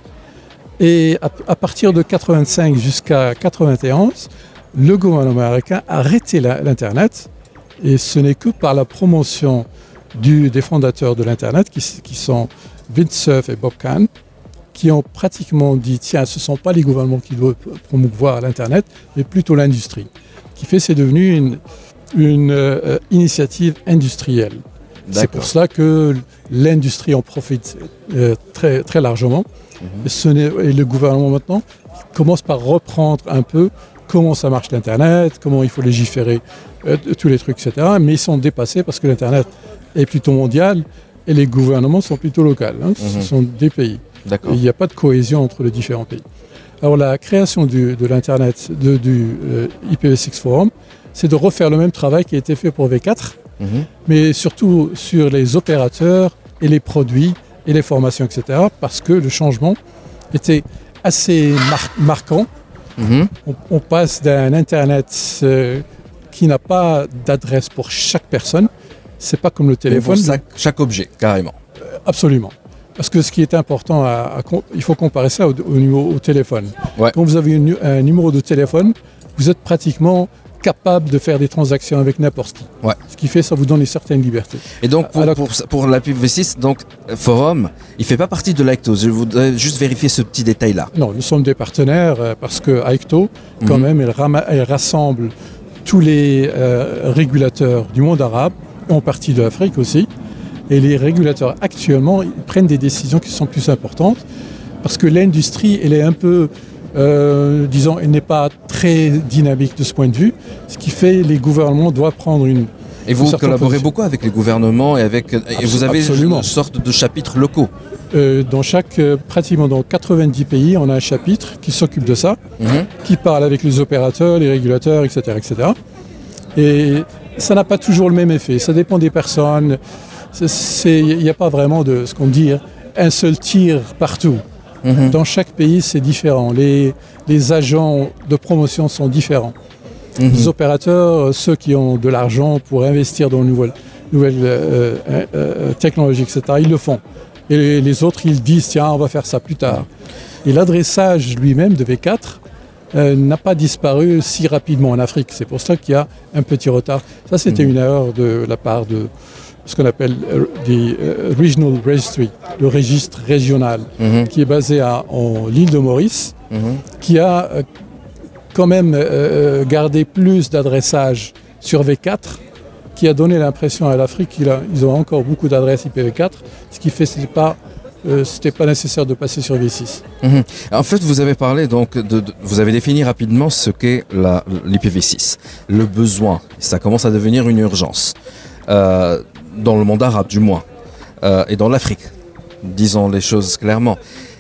Et à, à partir de quatre-vingt-cinq jusqu'à quatre-vingt-onze, le gouvernement américain a arrêté la, l'Internet. Et ce n'est que par la promotion du, des fondateurs de l'Internet, qui, qui sont Vint Cerf et Bob Kahn, qui ont pratiquement dit, tiens, ce ne sont pas les gouvernements qui doivent promouvoir l'Internet, mais plutôt l'industrie. Qui fait, c'est devenu une, une euh, initiative industrielle.
D'accord.
C'est pour cela que l'industrie en profite euh, très, très largement. Mmh. Et, ce n'est, et le gouvernement maintenant commence par reprendre un peu comment ça marche l'Internet, comment il faut légiférer, euh, tous les trucs, et cetera. Mais ils sont dépassés parce que l'Internet est plutôt mondial et les gouvernements sont plutôt locaux. Hein. Mmh. Ce sont des pays.
D'accord.
Il n'y a pas de cohésion entre les différents pays. Alors la création du, de l'Internet, de, du euh, I P v six Forum, c'est de refaire le même travail qui a été fait pour V quatre. Mmh. Mais surtout sur les opérateurs et les produits et les formations, et cetera. Parce que le changement était assez mar- marquant. Mmh. On, on passe d'un Internet euh, qui n'a pas d'adresse pour chaque personne. C'est pas comme le téléphone.
Pour chaque, chaque objet, carrément.
Euh, absolument. Parce que ce qui est important, à, à, il faut comparer ça au, au, niveau, au téléphone.
Ouais.
Quand vous avez une, un numéro de téléphone, vous êtes pratiquement capable de faire des transactions avec n'importe qui.
Ouais.
Ce qui fait, ça vous donne une certaine liberté.
Et donc, pour, pour, pour l'I P v six, donc, Forum, il ne fait pas partie de l'AECTO. Je voudrais juste vérifier ce petit détail-là.
Non, nous sommes des partenaires euh, parce que AECTO, quand mm-hmm. même, elle, ram- elle rassemble tous les euh, régulateurs du monde arabe, en partie de l'Afrique aussi. Et les régulateurs, actuellement, ils prennent des décisions qui sont plus importantes parce que l'industrie, elle est un peu... Euh, disons, elle n'est pas très dynamique de ce point de vue, ce qui fait que les gouvernements doivent prendre une...
Et vous collaborez beaucoup avec les gouvernements et, avec, et Absol- vous avez absolument. Une sorte de chapitres locaux.
euh, Dans chaque, euh, pratiquement dans quatre-vingt-dix pays, on a un chapitre qui s'occupe de ça, mmh. qui parle avec les opérateurs, les régulateurs, et cetera, et cetera. Et ça n'a pas toujours le même effet, ça dépend des personnes. Il n'y a pas vraiment de, ce qu'on dit, un seul tir partout. Mmh. Dans chaque pays, c'est différent. Les, les agents de promotion sont différents. Mmh. Les opérateurs, ceux qui ont de l'argent pour investir dans de nouvelles, nouvelles euh, euh, technologies, et cetera, ils le font. Et les, les autres, ils disent, tiens, on va faire ça plus tard. Et l'adressage lui-même de V quatre euh, n'a pas disparu si rapidement en Afrique. C'est pour ça qu'il y a un petit retard. Ça, c'était mmh. une erreur de la part de... ce qu'on appelle des uh, Regional Registry, le registre régional, mm-hmm. qui est basé à, en l'île de Maurice, mm-hmm. qui a euh, quand même euh, gardé plus d'adressage sur V quatre, qui a donné l'impression à l'Afrique qu'ils ont encore beaucoup d'adresses I P v quatre, ce qui fait que ce n'était pas, euh, c'était pas nécessaire de passer sur V six.
Mm-hmm. En fait, vous avez parlé, donc, de, de, vous avez défini rapidement ce qu'est la, l'I P v six, le besoin. Ça commence à devenir une urgence. Euh, dans le monde arabe du moins, euh, et dans l'Afrique, disons les choses clairement.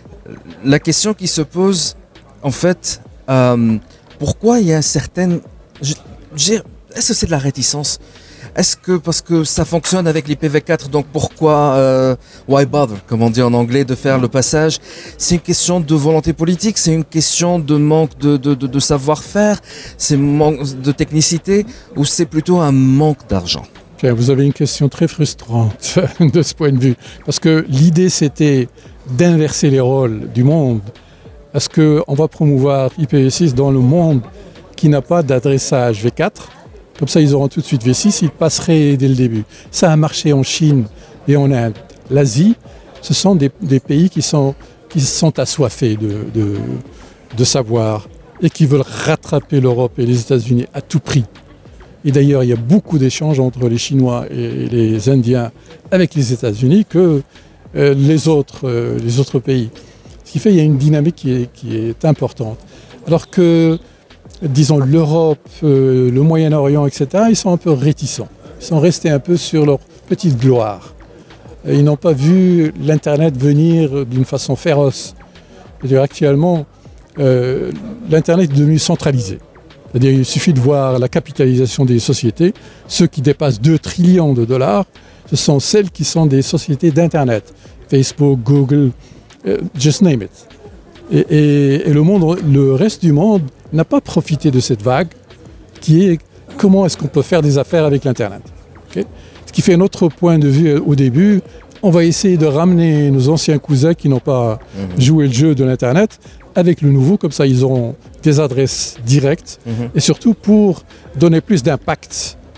La question qui se pose, en fait, euh, pourquoi il y a certaines... Je, je, est-ce que c'est de la réticence Est-ce que parce que ça fonctionne avec l'I P v quatre, donc pourquoi euh, why bother, comme on dit en anglais, de faire le passage? C'est une question de volonté politique, c'est une question de manque de, de, de, de savoir-faire, c'est manque de technicité, ou c'est plutôt un manque d'argent?
Vous avez une question très frustrante de ce point de vue, parce que l'idée c'était d'inverser les rôles du monde. Est-ce qu'on va promouvoir I P v six dans le monde qui n'a pas d'adressage V quatre? Comme ça, ils auront tout de suite V six, ils passeraient dès le début. Ça a marché en Chine et en Inde. L'Asie, ce sont des, des pays qui sont, qui sont assoiffés de, de, de savoir et qui veulent rattraper l'Europe et les États-Unis à tout prix. Et d'ailleurs, il y a beaucoup d'échanges entre les Chinois et les Indiens avec les États-Unis que euh, les, autres, euh, les autres pays. Ce qui fait qu'il y a une dynamique qui est, qui est importante. Alors que, disons, l'Europe, euh, le Moyen-Orient, et cetera, ils sont un peu réticents. Ils sont restés un peu sur leur petite gloire. Ils n'ont pas vu l'Internet venir d'une façon féroce. C'est-à-dire, actuellement, euh, l'Internet est devenu centralisé. C'est-à-dire, il suffit de voir la capitalisation des sociétés. Ceux qui dépassent deux trillions de dollars, ce sont celles qui sont des sociétés d'Internet. Facebook, Google, uh, just name it. Et, et, et le monde, le reste du monde n'a pas profité de cette vague qui est comment est-ce qu'on peut faire des affaires avec l'Internet. Okay? Ce qui fait notre point de vue au début, on va essayer de ramener nos anciens cousins qui n'ont pas mmh. joué le jeu de l'Internet avec le nouveau, comme ça ils auront des adresses directes mmh. et surtout pour donner plus d'impact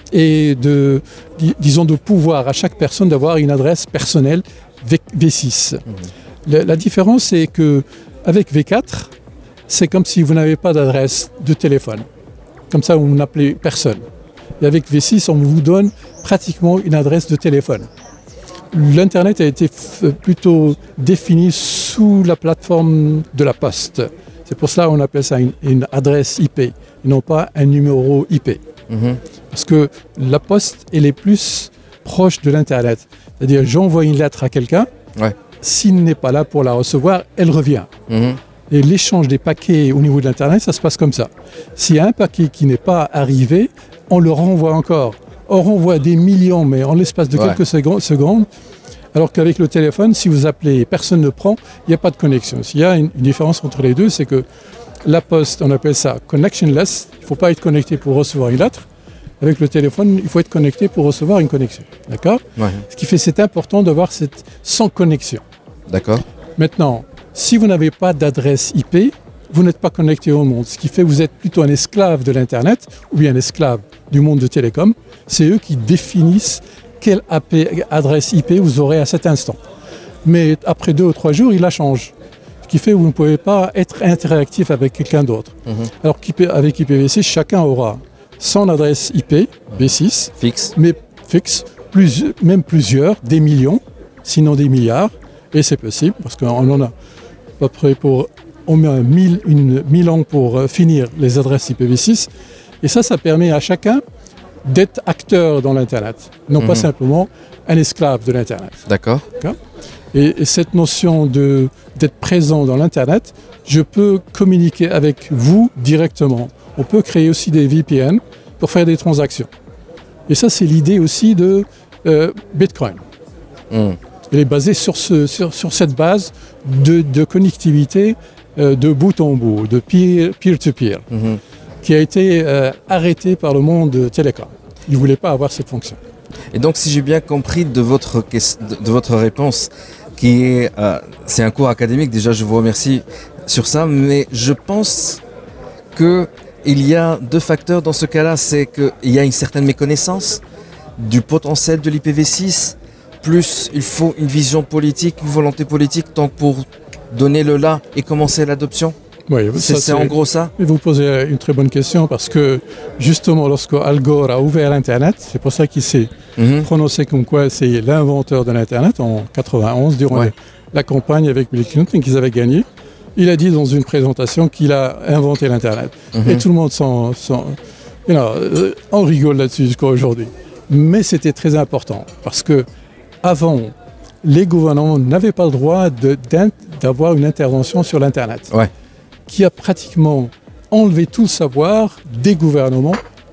et de, dis, disons de pouvoir à chaque personne d'avoir une adresse personnelle V six. Mmh. La, la différence c'est que avec V quatre, c'est comme si vous n'avez pas d'adresse de téléphone. Comme ça, vous n'appelez personne. Et avec V six, on vous donne pratiquement une adresse de téléphone. L'Internet a été f- plutôt défini sous la plateforme de la poste. C'est pour cela qu'on appelle ça une, une adresse I P, et non pas un numéro I P. Mm-hmm. Parce que la poste, elle est plus proche de l'Internet. C'est-à-dire, j'envoie une lettre à quelqu'un, ouais. S'il n'est pas là pour la recevoir, elle revient. Mm-hmm. Et l'échange des paquets au niveau de l'Internet, ça se passe comme ça. S'il y a un paquet qui n'est pas arrivé, on le renvoie encore. On renvoie des millions, mais en l'espace de ouais. quelques secondes. Alors qu'avec le téléphone, si vous appelez et personne ne prend, il n'y a pas de connexion. S'il y a une, une différence entre les deux, c'est que la poste, on appelle ça connectionless. Il ne faut pas être connecté pour recevoir une lettre. Avec le téléphone, il faut être connecté pour recevoir une connexion. D'accord ? Ouais. Ce qui fait que c'est important d'avoir cette sans connexion.
D'accord.
Maintenant, si vous n'avez pas d'adresse I P, vous n'êtes pas connecté au monde. Ce qui fait que vous êtes plutôt un esclave de l'Internet ou bien un esclave du monde de télécom. C'est eux qui définissent quelle A P, adresse I P vous aurez à cet instant. Mais après deux ou trois jours, il la change. Ce qui fait que vous ne pouvez pas être interactif avec quelqu'un d'autre. Mm-hmm. Alors qu'avec I P v six, chacun aura son adresse I P V six,
fixe,
mais fixe, plus, même plusieurs, des millions, sinon des milliards. Et c'est possible, parce qu'on en a à peu près pour au moins mille ans pour finir les adresses I P v six. Et ça, ça permet à chacun d'être acteur dans l'Internet, non mmh. pas simplement un esclave de l'Internet.
D'accord.
D'accord. Et, et cette notion de, d'être présent dans l'Internet, je peux communiquer avec vous directement. On peut créer aussi des V P N pour faire des transactions. Et ça, c'est l'idée aussi de euh, Bitcoin. Mmh. Elle est basée sur, ce, sur, sur cette base de, de connectivité euh, de bout en bout, de peer, peer-to-peer, mmh. qui a été euh, arrêtée par le monde télécom. Ils ne voulaient pas avoir cette fonction.
Et donc, si j'ai bien compris de votre, de votre réponse, qui est, euh, c'est un cours académique, déjà je vous remercie sur ça, mais je pense qu'il y a deux facteurs dans ce cas-là, c'est qu'il y a une certaine méconnaissance du potentiel de l'I P v six, plus il faut une vision politique, une volonté politique, tant pour donner le là et commencer l'adoption.
Oui,
c'est,
ça,
c'est, c'est en gros ça.
Vous posez une très bonne question parce que justement lorsque Al Gore a ouvert l'Internet, c'est pour ça qu'il s'est mm-hmm. prononcé comme quoi c'est l'inventeur de l'Internet en quatre-vingt-onze durant ouais. la campagne avec Bill Clinton qu'ils avaient gagné. Il a dit dans une présentation qu'il a inventé l'Internet. Mm-hmm. Et tout le monde s'en... s'en you know, on rigole là-dessus jusqu'à aujourd'hui. Mais c'était très important parce que avant, les gouvernements n'avaient pas le droit de, d'avoir une intervention sur l'Internet.
Ouais.
Qui a pratiquement enlevé tout le savoir des gouvernements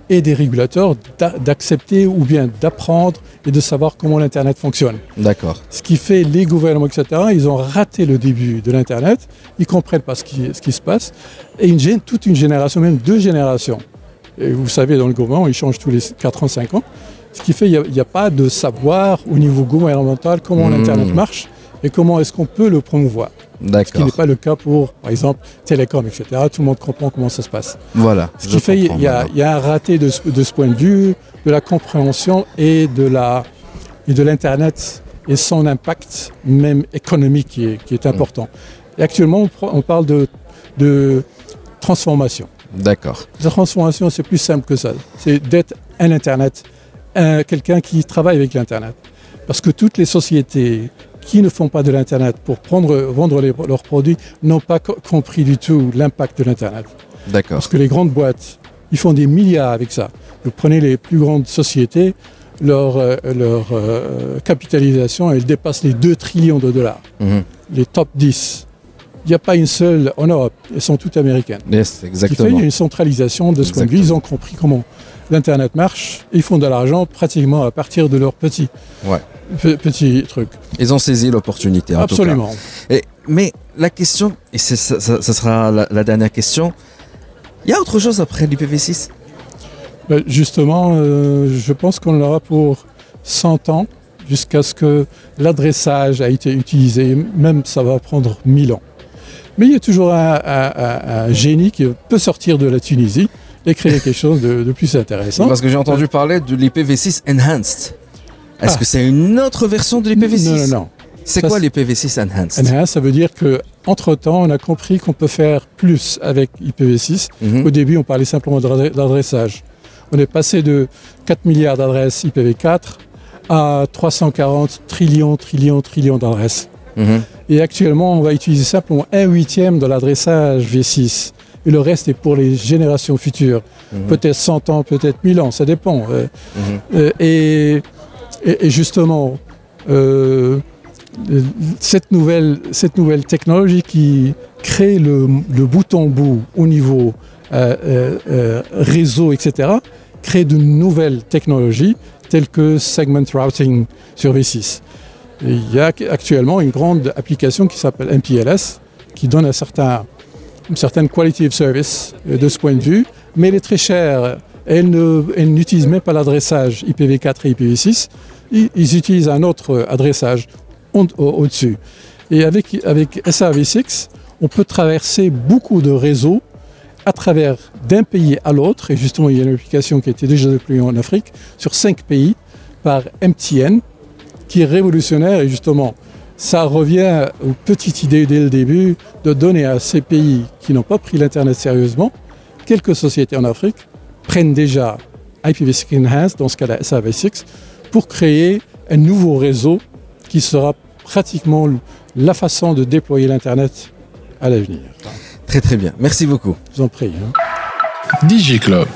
et des régulateurs d'a- d'accepter ou bien d'apprendre et de savoir comment l'Internet fonctionne.
D'accord.
Ce qui fait les gouvernements, et cetera, ils ont raté le début de l'Internet, ils ne comprennent pas ce qui, ce qui se passe, et une, gé- toute une génération, même deux générations. Et vous savez, dans le gouvernement, ils changent tous les quatre ans, cinq ans, ce qui fait qu'il n'y a, a pas de savoir au niveau gouvernemental comment mmh. l'Internet marche et comment est-ce qu'on peut le promouvoir.
D'accord.
Ce qui n'est pas le cas pour, par exemple, Télécom, et cetera. Tout le monde comprend comment ça se passe.
Voilà.
Ce qui fait qu'il y, y a un raté de ce, de ce point de vue, de la compréhension et de, la, et de l'Internet et son impact, même économique, qui est, qui est important. Et actuellement, on, on parle de, de transformation.
D'accord.
La transformation, c'est plus simple que ça. C'est d'être un Internet, un, quelqu'un qui travaille avec l'Internet. Parce que toutes les sociétés qui ne font pas de l'Internet pour prendre, vendre les, leurs produits n'ont pas co- compris du tout l'impact de l'Internet.
D'accord.
Parce que les grandes boîtes, ils font des milliards avec ça. Vous prenez les plus grandes sociétés, leur, euh, leur euh, capitalisation, elle dépasse les deux trillions de dollars. Mmh. Les top dix. Il n'y a pas une seule en Europe, elles sont toutes américaines.
Yes, exactement.
Ce qui fait qu'il y a une centralisation de ce point de vue. Ils ont compris comment l'Internet marche. Ils font de l'argent pratiquement à partir de leurs petits,
ouais.
pe- petits trucs.
Ils ont saisi l'opportunité, en
Absolument.
tout cas. Et, mais la question, et c'est, ça, ça, ça sera la, la dernière question, il y a autre chose après l'I P v six ?
Ben justement, euh, je pense qu'on l'aura pour cent ans, jusqu'à ce que l'adressage a été utilisé. Même ça va prendre mille ans. Mais il y a toujours un, un, un, un génie qui peut sortir de la Tunisie et créer quelque chose de, de plus intéressant.
Parce que j'ai entendu parler de l'I P v six Enhanced. Est-ce ah. que c'est une autre version de l'I P v six ?
Non, non, non.
C'est ça, quoi l'I P v six Enhanced ?
Enhanced, ça veut dire qu'entre-temps, on a compris qu'on peut faire plus avec I P v six. Mm-hmm. Au début, on parlait simplement d'adressage. On est passé de quatre milliards d'adresses I P v quatre à trois cent quarante trillions, trillions, trillions d'adresses. Mmh. Et actuellement, on va utiliser simplement un huitième de l'adressage V six. Et le reste est pour les générations futures. Mmh. Peut-être cent ans, peut-être mille ans, ça dépend. Mmh. Euh, et, et, et justement, euh, cette, nouvelle, cette nouvelle technologie qui crée le, le bout en bout au niveau euh, euh, réseau, et cetera, crée de nouvelles technologies telles que segment routing sur V six. Et il y a actuellement une grande application qui s'appelle M P L S qui donne un certain, une certaine quality of service de ce point de vue, mais elle est très chère. Elle, ne, elle n'utilise même pas l'adressage I P v quatre et I P v six. Ils, ils utilisent un autre adressage au, au, au-dessus. Et avec, avec S A V six, on peut traverser beaucoup de réseaux à travers d'un pays à l'autre. Et justement, il y a une application qui a été déjà déployée en Afrique sur cinq pays par M T N, qui est révolutionnaire. Et justement, ça revient aux petites idées dès le début de donner à ces pays qui n'ont pas pris l'Internet sérieusement, quelques sociétés en Afrique prennent déjà I P v six Enhanced, dans ce cas-là S A V six, pour créer un nouveau réseau qui sera pratiquement la façon de déployer l'Internet à l'avenir.
Très très bien, merci beaucoup.
Je vous en prie. Hein.
DigiClub.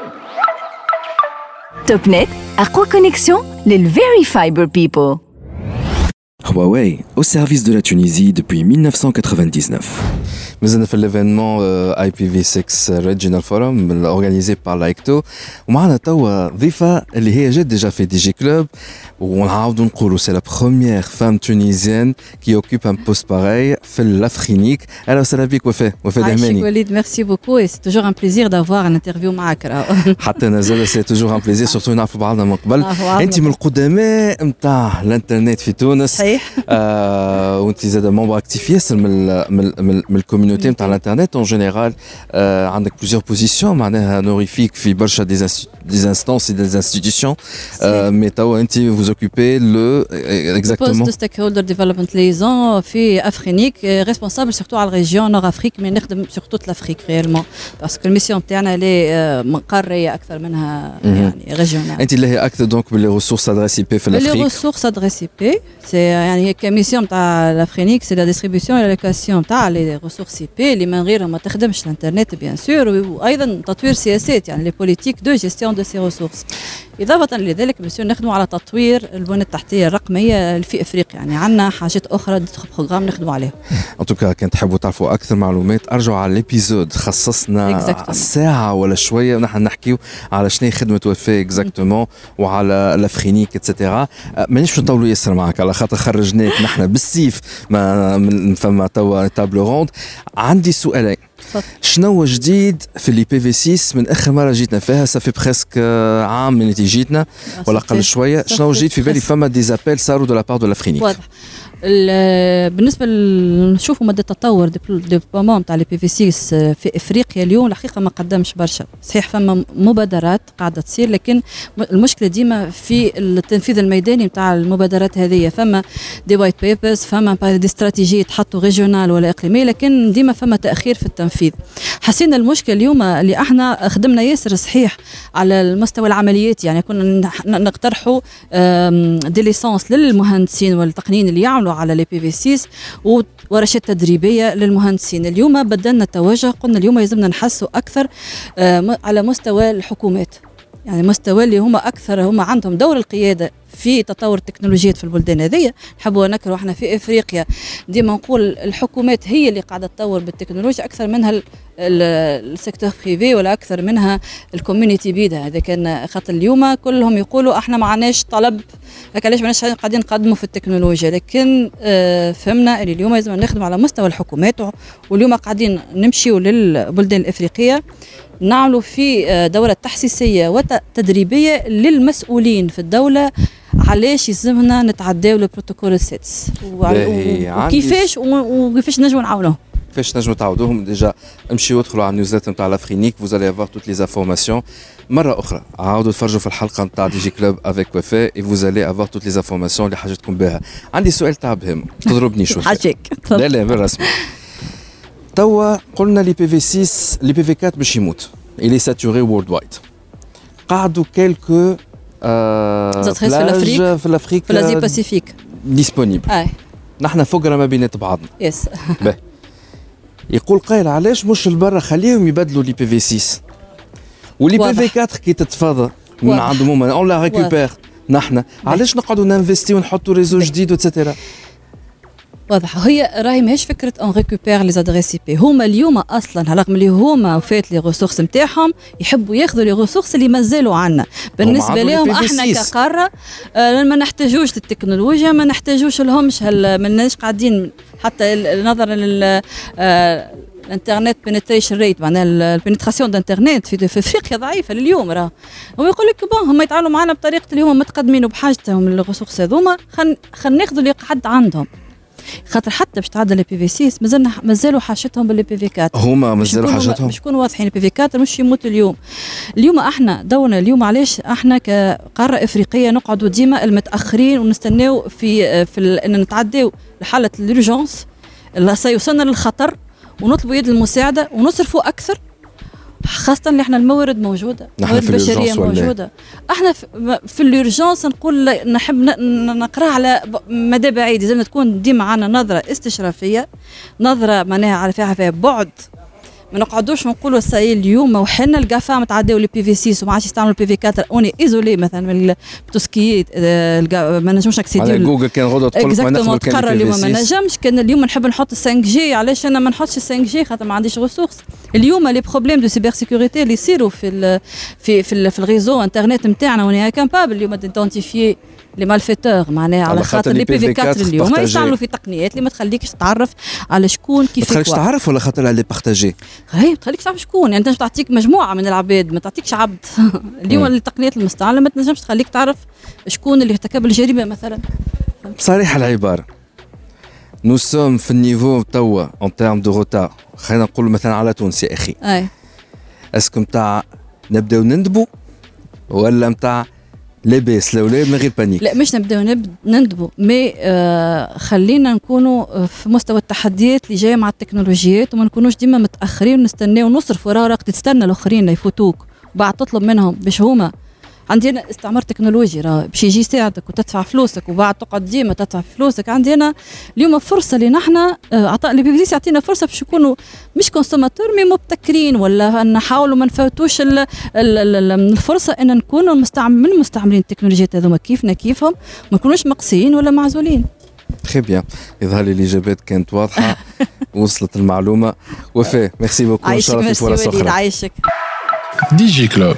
TopNet, أقوى كونيكسيون للفيري فايبر بيبل.
Huawei, au service de la Tunisie depuis mille neuf cent quatre-vingt-dix-neuf.
مازلنا في l'événement I P v six Regional Forum organisé par l'AICTO ومعنا توا ضيفة اللي هي جات déjà في دي جي كلوب ونعاودوا نقولوا c'est la première femme tunisienne qui occupe un poste pareil في l'Afrique. Alors وسهلا بك وفاء وفاء دهماني.
Walid, merci beaucoup et c'est toujours un plaisir d'avoir un interview معك.
حتى نزل c'est toujours un plaisir surtout نعرفوا بعضنا من قبل. انت من القدماء نتاع الانترنت في تونس. صحيح. آه وانت زاد ممبر اكتيف ياسر من من من الكوميونيتي نتاع الانترنت en général. آه عندك plusieurs positions معناها honorifiques في برشا des des instances et des institutions. آه mais توا انت vous occupez le exactement
le poste de stakeholder development liaison في افرينيك responsable surtout على الريجيون نور افريك mais نخدم sur toute l'Afrique réellement parce que الميسيون تاعنا لي منقريه اكثر منها يعني ريجيونال.
انت اللي هي اكثر دونك باللي ressources adresse I P في l'Afrique.
les ressources adresse I P c'est يعني كميسيون تاع l'Afrique c'est la distribution et l'allocation تاع les ressources I P اللي من غيرها ما تخدمش الانترنت bien sûr وايضا تطوير سياسات يعني les politiques de gestion de ces ressources. اضافه لذلك بنسيو نخدموا على تطوير البنى التحتيه الرقميه في افريقيا، يعني عندنا حاجات اخرى بروغرام نخدموا عليها.
ان توكا كان تحبوا تعرفوا اكثر معلومات ارجعوا على الابيزود، خصصنا exactly. ساعه ولا شويه ونحن نحكيو على شنو خدمه وفاء اكزاكتومون وعلى لافرينيك اتسيتيرا. مانيش نطولوا ياسر معك على خاطر خرجناك نحن بالسيف ما من فما توا تابل روند. عندي سؤالين، شنو جديد في اللي بي في ستة من اخر مره جيتنا فيها؟ صافي بريسك عام من اللي جيتنا ولا قل شويه. شنو جديد في بالي؟ فما ديزابيل صاروا دو لابار دو لافرينيك.
واضح. بالنسبه نشوفوا مدى التطور ديبلومون تاع لي بي في ستة في افريقيا اليوم الحقيقه ما قدمش برشا. صحيح فما مبادرات قاعده تصير، لكن المشكله ديما في التنفيذ الميداني نتاع المبادرات هذه. فما دي وايت بيبرز، فما دي استراتيجيه تحطوا ريجيونال ولا اقليميه، لكن ديما فما تاخير في التنفيذ. حسينا المشكله اليوم اللي احنا خدمنا ياسر صحيح على المستوى العمليات، يعني كنا نقترحوا دي ليسانس للمهندسين والتقنيين اللي يعملوا على لي بي في ستة وورشات تدريبيه للمهندسين. اليوم بدلنا التوجه، قلنا اليوم لازمنا نحسوا اكثر على مستوى الحكومات، يعني مستوى اللي هم اكثر هم عندهم دور القياده في تطور التكنولوجيات في البلدان هذه. نحبوا نكروا احنا في افريقيا ديما نقول الحكومات هي اللي قاعده تطور بالتكنولوجيا اكثر منها السيكتور بريفي ولا اكثر منها الكوميونيتي بيدا. هذا كان خاطر اليوم كلهم يقولوا احنا ما عندناش طلب، هكا علاش ماناش قاعدين نقدموا في التكنولوجيا. لكن آه فهمنا ان اليوم لازم نخدم على مستوى الحكومات، واليوم قاعدين نمشيوا للبلدان الافريقيه نعملوا في دورة تحسيسية وتدريبية للمسؤولين في الدولة علاش يلزمنا نتعداو البروتوكول السادس وكيفاش وكيفاش نجموا نعاونوهم.
كيفاش نجموا تعاودوهم؟ ديجا امشيو ادخلوا على النيوزليتر نتاع لافرينيك، vous allez avoir toutes les informations. مرة أخرى عاودوا تفرجوا في الحلقة نتاع دي جي كلوب افيك وفاء et vous allez avoir toutes les informations اللي حاجتكم بها. عندي سؤال تاع بهم تضربني شوية.
حاجيك.
لا لا بالرسمي. توا قلنا لي بي في ستة لي بي في أربعة باش يموت، il est saturé worldwide. قعدوا quelques
بلاج
في الافريق
في الازي باسيفيك
ديسپونيبل.
اي
نحن فقره ما بينات بعضنا.
يس
باهي. يقول قايل علاش مش البرا خليهم يبدلوا لي بي في ستة ولي بي في أربعة كي تتفاضى من عندهم هما اون لا ريكوبير. نحن علاش نقعدوا نانفستي ونحطوا ريزو جديد وتسيتيرا؟
واضح. هي راهي ماهيش فكره اون ريكوبير لي زادريس بي. هما اليوم اصلا رغم اللي هما وفات لي ريسورس نتاعهم يحبوا ياخذوا لي ريسورس اللي مازالوا عنا. بالنسبه لهم احنا كقاره آه ما نحتاجوش للتكنولوجيا، ما نحتاجوش لهمش ماناش قاعدين حتى نظرا لل آه الانترنت بنتريشن ريت، معناها البنتراسيون دانترنت في في افريقيا ضعيفه لليوم. راه هو يقول لك بون هم يتعاملوا معنا بطريقه اللي هم متقدمين وبحاجتهم للريسورس هذوما، خل خل ناخذوا اللي قعد عندهم. خاطر حتى باش تعدل لي بي في ستة مازالنا مازالوا حاجتهم باللي بي في أربعة.
هما مازالوا حاجتهم
باش يكونوا واضحين. بي في أربعة مش يموتوا اليوم. اليوم احنا دورنا اليوم علاش احنا كقاره افريقيه نقعدوا ديما المتاخرين ونستناو في في ان نتعداو لحاله الurgence اللي سيوصلنا للخطر ونطلبوا يد المساعده ونصرفوا اكثر، خاصة اللي احنا الموارد موجودة، الموارد البشرية موجودة. احنا في اليورجانس نقول نحب نقرأ على مدى بعيد، لازم تكون ديما عنا نظرة استشرافية، نظرة معناها على فيها فيها بعد. ما نقعدوش نقولوا ساي اليوم وحنا القافا متعداو لي بي في ستة وما عادش يستعملوا بي في أربعة اوني ايزولي مثلا من التسكيت ما نجموش نكسيديو
على جوجل. كان غدوه تقول لك ما نقدروا
نقرر اليوم ما نجمش. كان اليوم نحب نحط خمسة جي، علاش انا ما نحطش خمسة جي؟ خاطر ما عنديش ريسورس. اليوم لي بروبليم دو سيبر سيكوريتي اللي يصيروا في ال في في, في الريزو انترنت نتاعنا وني كابابل اليوم ديدونتيفيي لي مالفيتور، معناها على خاطر لي بي في أربعة اليوم ما يستعملوا في تقنيات اللي ما تخليكش تعرف على شكون كيف
ما تخليكش تعرف ولا خاطر على بارطاجي.
هي ما تخليكش تعرف شكون، يعني انت تعطيك مجموعه من العباد ما تعطيكش عبد. اليوم التقنيات المستعمله ما تنجمش تخليك تعرف شكون اللي ارتكب الجريمه مثلا.
بصريح العباره نو سوم في النيفو توا اون تيرم دو روتار، خلينا نقول مثلا على تونس يا اخي.
اي
اسكو نتاع نبداو نندبوا ولا نتاع لاباس الاولاد من غير بانيك؟
لا مش نبداو نندبوا، مي آه خلينا نكونوا في مستوى التحديات اللي جايه مع التكنولوجيات وما نكونوش ديما متاخرين ونستناو نصرف وراه وقت تستنى الاخرين يفوتوك وبعد تطلب منهم باش هما عندنا استعمار تكنولوجي راه باش يجي ساعتك وتدفع فلوسك وبعد تقعد ديما تدفع فلوسك. عندنا اليوم فرصه اللي نحن عطاء لي بي في سي يعطينا فرصه باش يكونوا مش كونسوماتور مي مبتكرين ولا نحاولوا ما نفوتوش الفرصه ان نكونوا مستعمل من مستعملين التكنولوجيات هذوما كيفنا كيفهم ما نكونوش مقصيين ولا معزولين.
تري بيان يظهر لي الاجابات كانت واضحه وصلت المعلومه. وفاء ميرسي بوكو ان شاء الله في فرص اخرى.
عايشك.
دي جي كلوب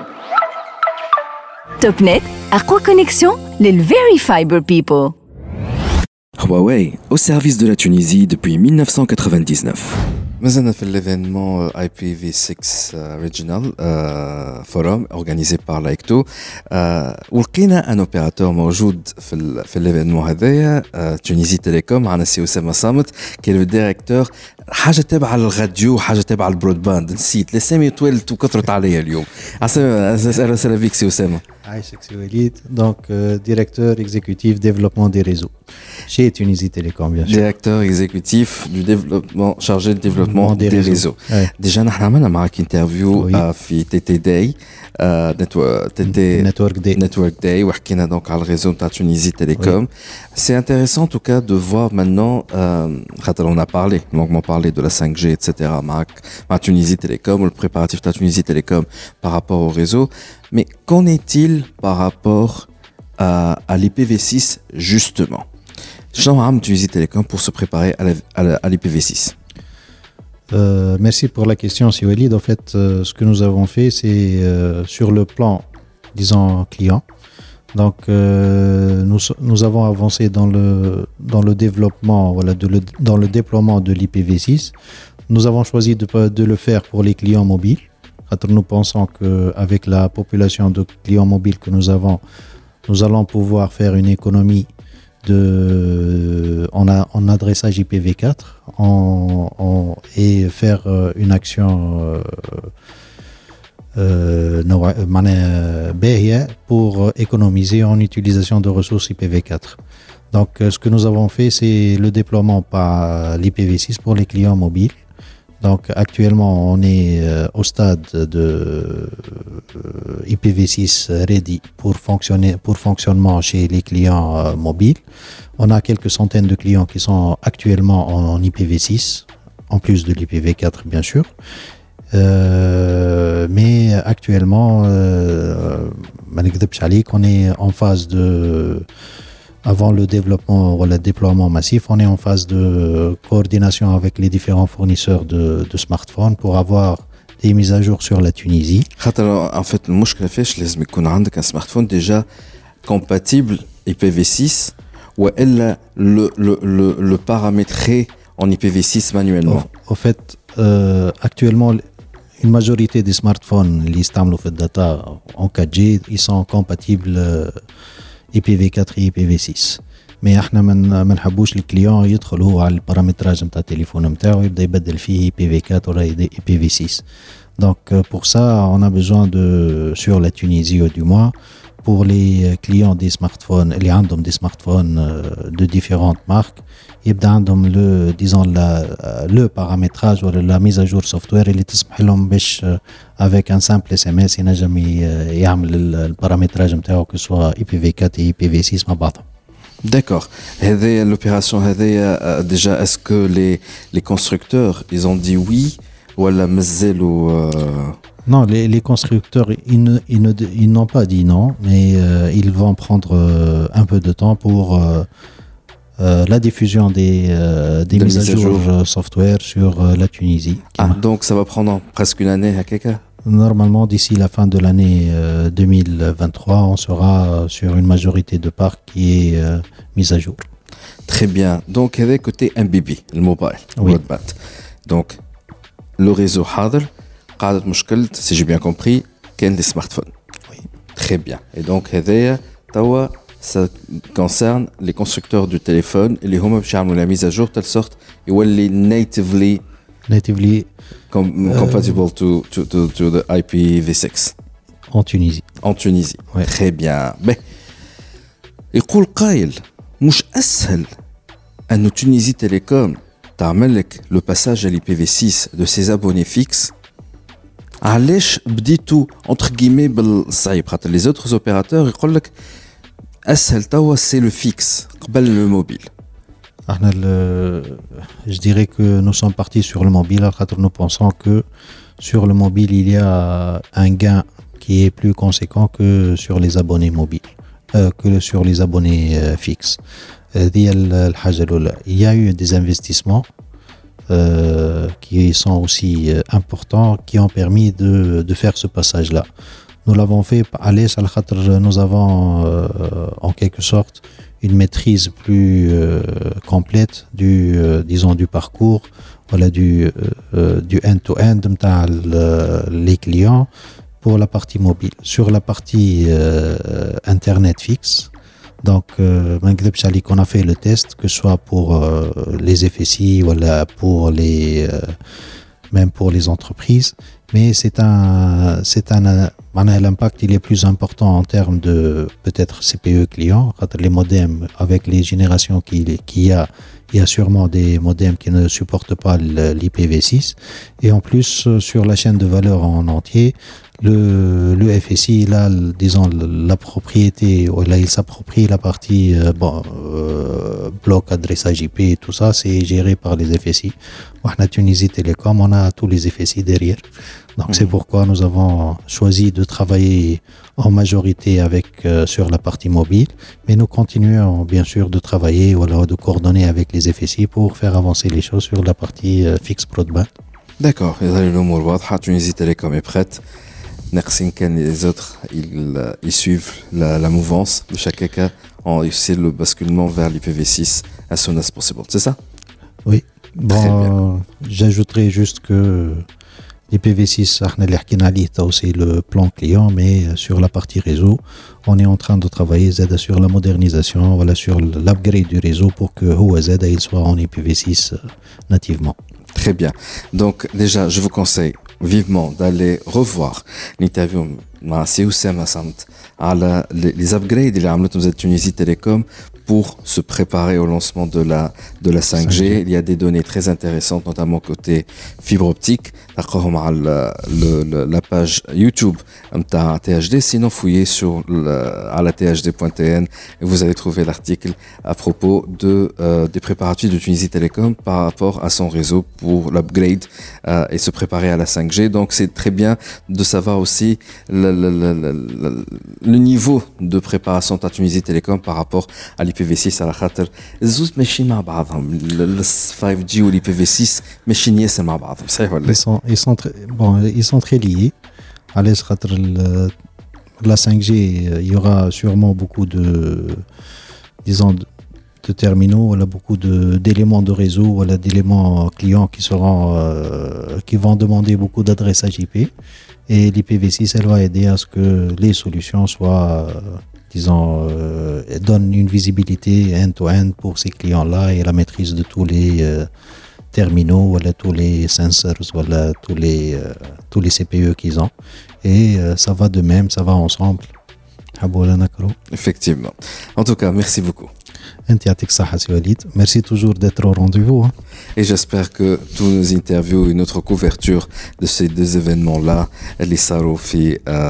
توب نت أقوى كونيكسيون للفيري فايبر بيبل.
Huawei, au service de la Tunisie depuis mille neuf cent quatre-vingt-dix-neuf.
مازلنا في l'événement I P v six Regional uh, Forum organisé par l'AICTO. uh, ولقينا ان اوبيراتور موجود في ال في l'événement هذايا uh, تونيزي تيليكوم. معنا سي أسامة صامت كي لو ديريكتور حاجه تابعه للراديو حاجه تابعه للبرودباند. نسيت الاسامي طولت وكثرت عليا اليوم. اهلا وسهلا بك سي أسامة.
عايشك سي وليد. دونك ديريكتور اكزيكوتيف ديفلوبمون دي ريزو chez Tunisie Télécom bien sûr.
Directeur exécutif du développement chargé de développement des, des réseaux. Ouais. Déjà nous avons معك interview oui. في T T Day uh, network, T T
Network Day
Network Day وحكينا donc على الريزو تاع Tunisie Télécom. Oui. C'est intéressant en tout cas de voir maintenant euh, on a parlé longuement parlé de la cinq G et cetera معك مع Tunisie Télécom le préparatif de Tunisie Télécom par rapport au réseau. Mais qu'en est-il par rapport à, à l'I P v six justement? Jean Ham Tunisie Télécom pour se préparer à, la, à, la, à l'I P v six.
Euh, merci pour la question, si Walid. En fait, euh, ce que nous avons fait, c'est euh, sur le plan, disons, client. Donc, euh, nous, nous avons avancé dans le, dans le développement, voilà, de le, dans le déploiement de l'I P v six. Nous avons choisi de, de le faire pour les clients mobiles. Nous pensons qu'avec la population de clients mobiles que nous avons, nous allons pouvoir faire une économie de, en, a, en adressage I P v quatre en, en, et faire une action euh, pour économiser en utilisation de ressources I P v quatre. Donc ce que nous avons fait, c'est le déploiement par l'I P v six pour les clients mobiles. Donc actuellement on est euh, au stade de euh, I P v six ready pour fonctionner pour fonctionnement chez les clients euh, mobiles. On a quelques centaines de clients qui sont actuellement en, en I P v six en plus de l'I P v quatre bien sûr. Euh, mais actuellement euh, on est en phase de avant le développement ou le déploiement massif, on est en phase de coordination avec les différents fournisseurs de, de smartphones pour avoir des mises à jour sur la Tunisie.
En fait, le problème c'est qu'il faut avoir un smartphone déjà compatible I P v six ou le, le, le, le paramétrer en I P v six manuellement.
En fait, euh, actuellement, une majorité des smartphones qui utilisent le data en quatre G, ils sont compatibles euh, I P v quatre et I P v six. Mais احنا ما ما نحبوش الكليون يدخل هو على البارامتراج نتاع التليفون نتاعو يبدا يبدل فيه I P v quatre ولا I P v six. Donc pour ça on a besoin de sur la Tunisie du moins pour les clients des smartphones اللي عندهم des smartphones de différentes marques يبدا عندهم le disons la le paramétrage ou la mise à jour software اللي تسمح لهم باش avec un simple S M S ينجم يعمل البارامتراج نتاعو que soit I P v quatre et I P v six مع بعضهم.
D'accord. هذه l'opération هذه déjà est-ce que les les constructeurs ils ont dit oui ولا مازالوا
Non, les, les constructeurs, ils, ne, ils, ne, ils n'ont pas dit non, mais euh, ils vont prendre euh, un peu de temps pour euh, euh, la diffusion des, euh, des de mises à jour, jour software sur euh, la Tunisie.
Ah, donc ça va prendre presque une année à quelque
Normalement, d'ici la fin de l'année euh, deux mille vingt-trois, on sera sur une majorité de parcs qui est euh, mise à jour.
Très bien. Donc, avec côté M B B, le mobile,
oui.
broadband. Donc, le réseau Hadr, قاعدة مشكلة si j'ai bien compris كان les smartphones.
Oui.
Très bien. Et donc هذايا توا ça concerne les constructeurs du téléphone اللي هما باش يعملوا la mise à jour telle sorte يولي natively
natively
com- euh, compatible to, to to to the I P v six.
En Tunisie.
En Tunisie.
Ouais.
Très bien. Mais يقول قائل مش أسهل أن Tunisie Télécom تعمل لك le passage à l'I P v six de ses abonnés fixes علاش بديتوا entre guillemets بالصعيب خاطر les autres opérateurs يقول لك اسهل توا c'est le fixe قبل le mobile.
احنا je dirais que nous sommes partis sur le mobile خاطر nous pensons que sur le mobile il y a un gain qui est plus conséquent que sur les abonnés mobiles euh, que sur les abonnés euh, fixes. هذه الحاجة الأولى. Il y a eu des investissements euh, qui sont aussi euh, importants qui ont permis de, de faire ce passage-là. Nous l'avons fait à l'aise à la nous avons euh, en quelque sorte une maîtrise plus euh, complète du euh, disons du parcours, voilà du euh, du end-to-end de les clients pour la partie mobile. Sur la partie euh, internet fixe, donc euh, on a fait le test que ce soit pour euh, les F S I ou voilà, pour les euh, même pour les entreprises, mais c'est un c'est un l'impact il est plus important en termes de peut-être C P E client, les modems avec les générations qu'il qu'il y a, il y a sûrement des modems qui ne supportent pas l'I P v six et en plus sur la chaîne de valeur en entier le le F S I là disons la propriété ou là il s'approprie la partie euh, bon euh, bloc adressage I P et tout ça c'est géré par les F S I. On a Tunisie Télécom, on a tous les F S I derrière. Donc mmh. c'est pourquoi nous avons choisi de travailler en majorité avec euh, sur la partie mobile, mais nous continuons bien sûr de travailler ou alors de coordonner avec les F S I pour faire avancer les choses sur la partie euh, fixe broadband.
D'accord, l'amor واضحة. Tunisie Télécom est prête. Merci que les autres ils, ils suivent la, la mouvance de chaque cas en c'est le basculement vers l'I P v six as soon as possible, c'est ça?
Oui. Bon, j'ajouterais juste que l'I P v six c'est le plan client, mais sur la partie réseau, on est en train de travailler Z sur la modernisation, voilà, sur l'upgrade du réseau pour que O Z il soit en I P v six nativement.
Très bien. Donc déjà, je vous conseille vivement d'aller revoir l'interview مع سي وسام سامت على les upgrades اللي عملتهم زاد Tunisie Télécom pour se préparer au lancement de la de la cinq G. Il y a des données très intéressantes, notamment côté fibre optique. تلقاهم على la page YouTube نتاع T H D. Sinon, fouillez sur à la T H D point T N et vous allez trouver l'article à propos de euh, des préparatifs de Tunisie Télécom par rapport à son réseau pour l'upgrade euh, et se préparer à la cinq G. Donc, c'est très bien de savoir aussi le, le, le, le, le niveau de préparation de Tunisie Télécom par rapport à l'I P v six. على خاطر الزوز ماشيين مع بعضهم ال five G و l'I P v six ماشيين ياسر مع بعضهم صحيح ولا؟
Ils sont ils sont très bon ils sont très liés. على خاطر la cinq G il y aura sûrement beaucoup de disons de, de terminaux, voilà, beaucoup de d'éléments de réseau, voilà, d'éléments clients qui seront euh, qui vont demander beaucoup d'adressage I P et l'I P v six elle va aider à ce que les solutions soient euh, disons, euh, donne une visibilité end-to-end pour ces clients-là et la maîtrise de tous les euh, terminaux, voilà, tous les sensors, voilà, tous les, euh, tous les C P E qu'ils ont. Et euh, ça va de même, ça va ensemble.
Effectivement. En tout cas, merci beaucoup.
Merci toujours d'être au rendez-vous. Hein.
Et j'espère que tous nos interviews et notre couverture de ces deux événements-là, les Saro fi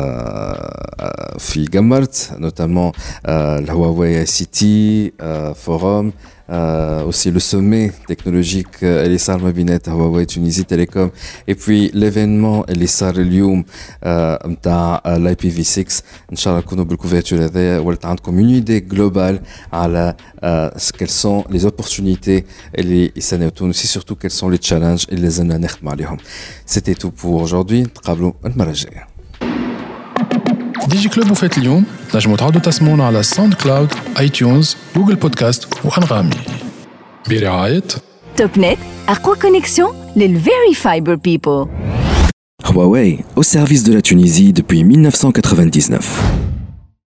fi Gamart, notamment euh, le Huawei I C T euh, Forum, euh, aussi le sommet technologique اللي صار ما بينات Huawei Tunisie Télécom et puis l'événement اللي صار اليوم نتاع l'I P v six. ان شاء الله نكونوا بالكوفرتور هذايا ولات عندكم une idée globale على quelles sont les opportunités اللي يستناو تونس et surtout quels sont les challenges اللي لازمنا نخدموا عليهم. C'était tout pour aujourd'hui. نتقابلوا المرة الجاية.
دي جي كلوب وفات اليوم نجموا تعودوا تسمعونا على ساوند كلاود، اي تيونز، جوجل بودكاست وانغامي برعاية
توب نت، أقوى كونيكسيون للفيري فايبر بيبل.
Huawei, au service de la Tunisie depuis mille neuf cent quatre-vingt-dix-neuf.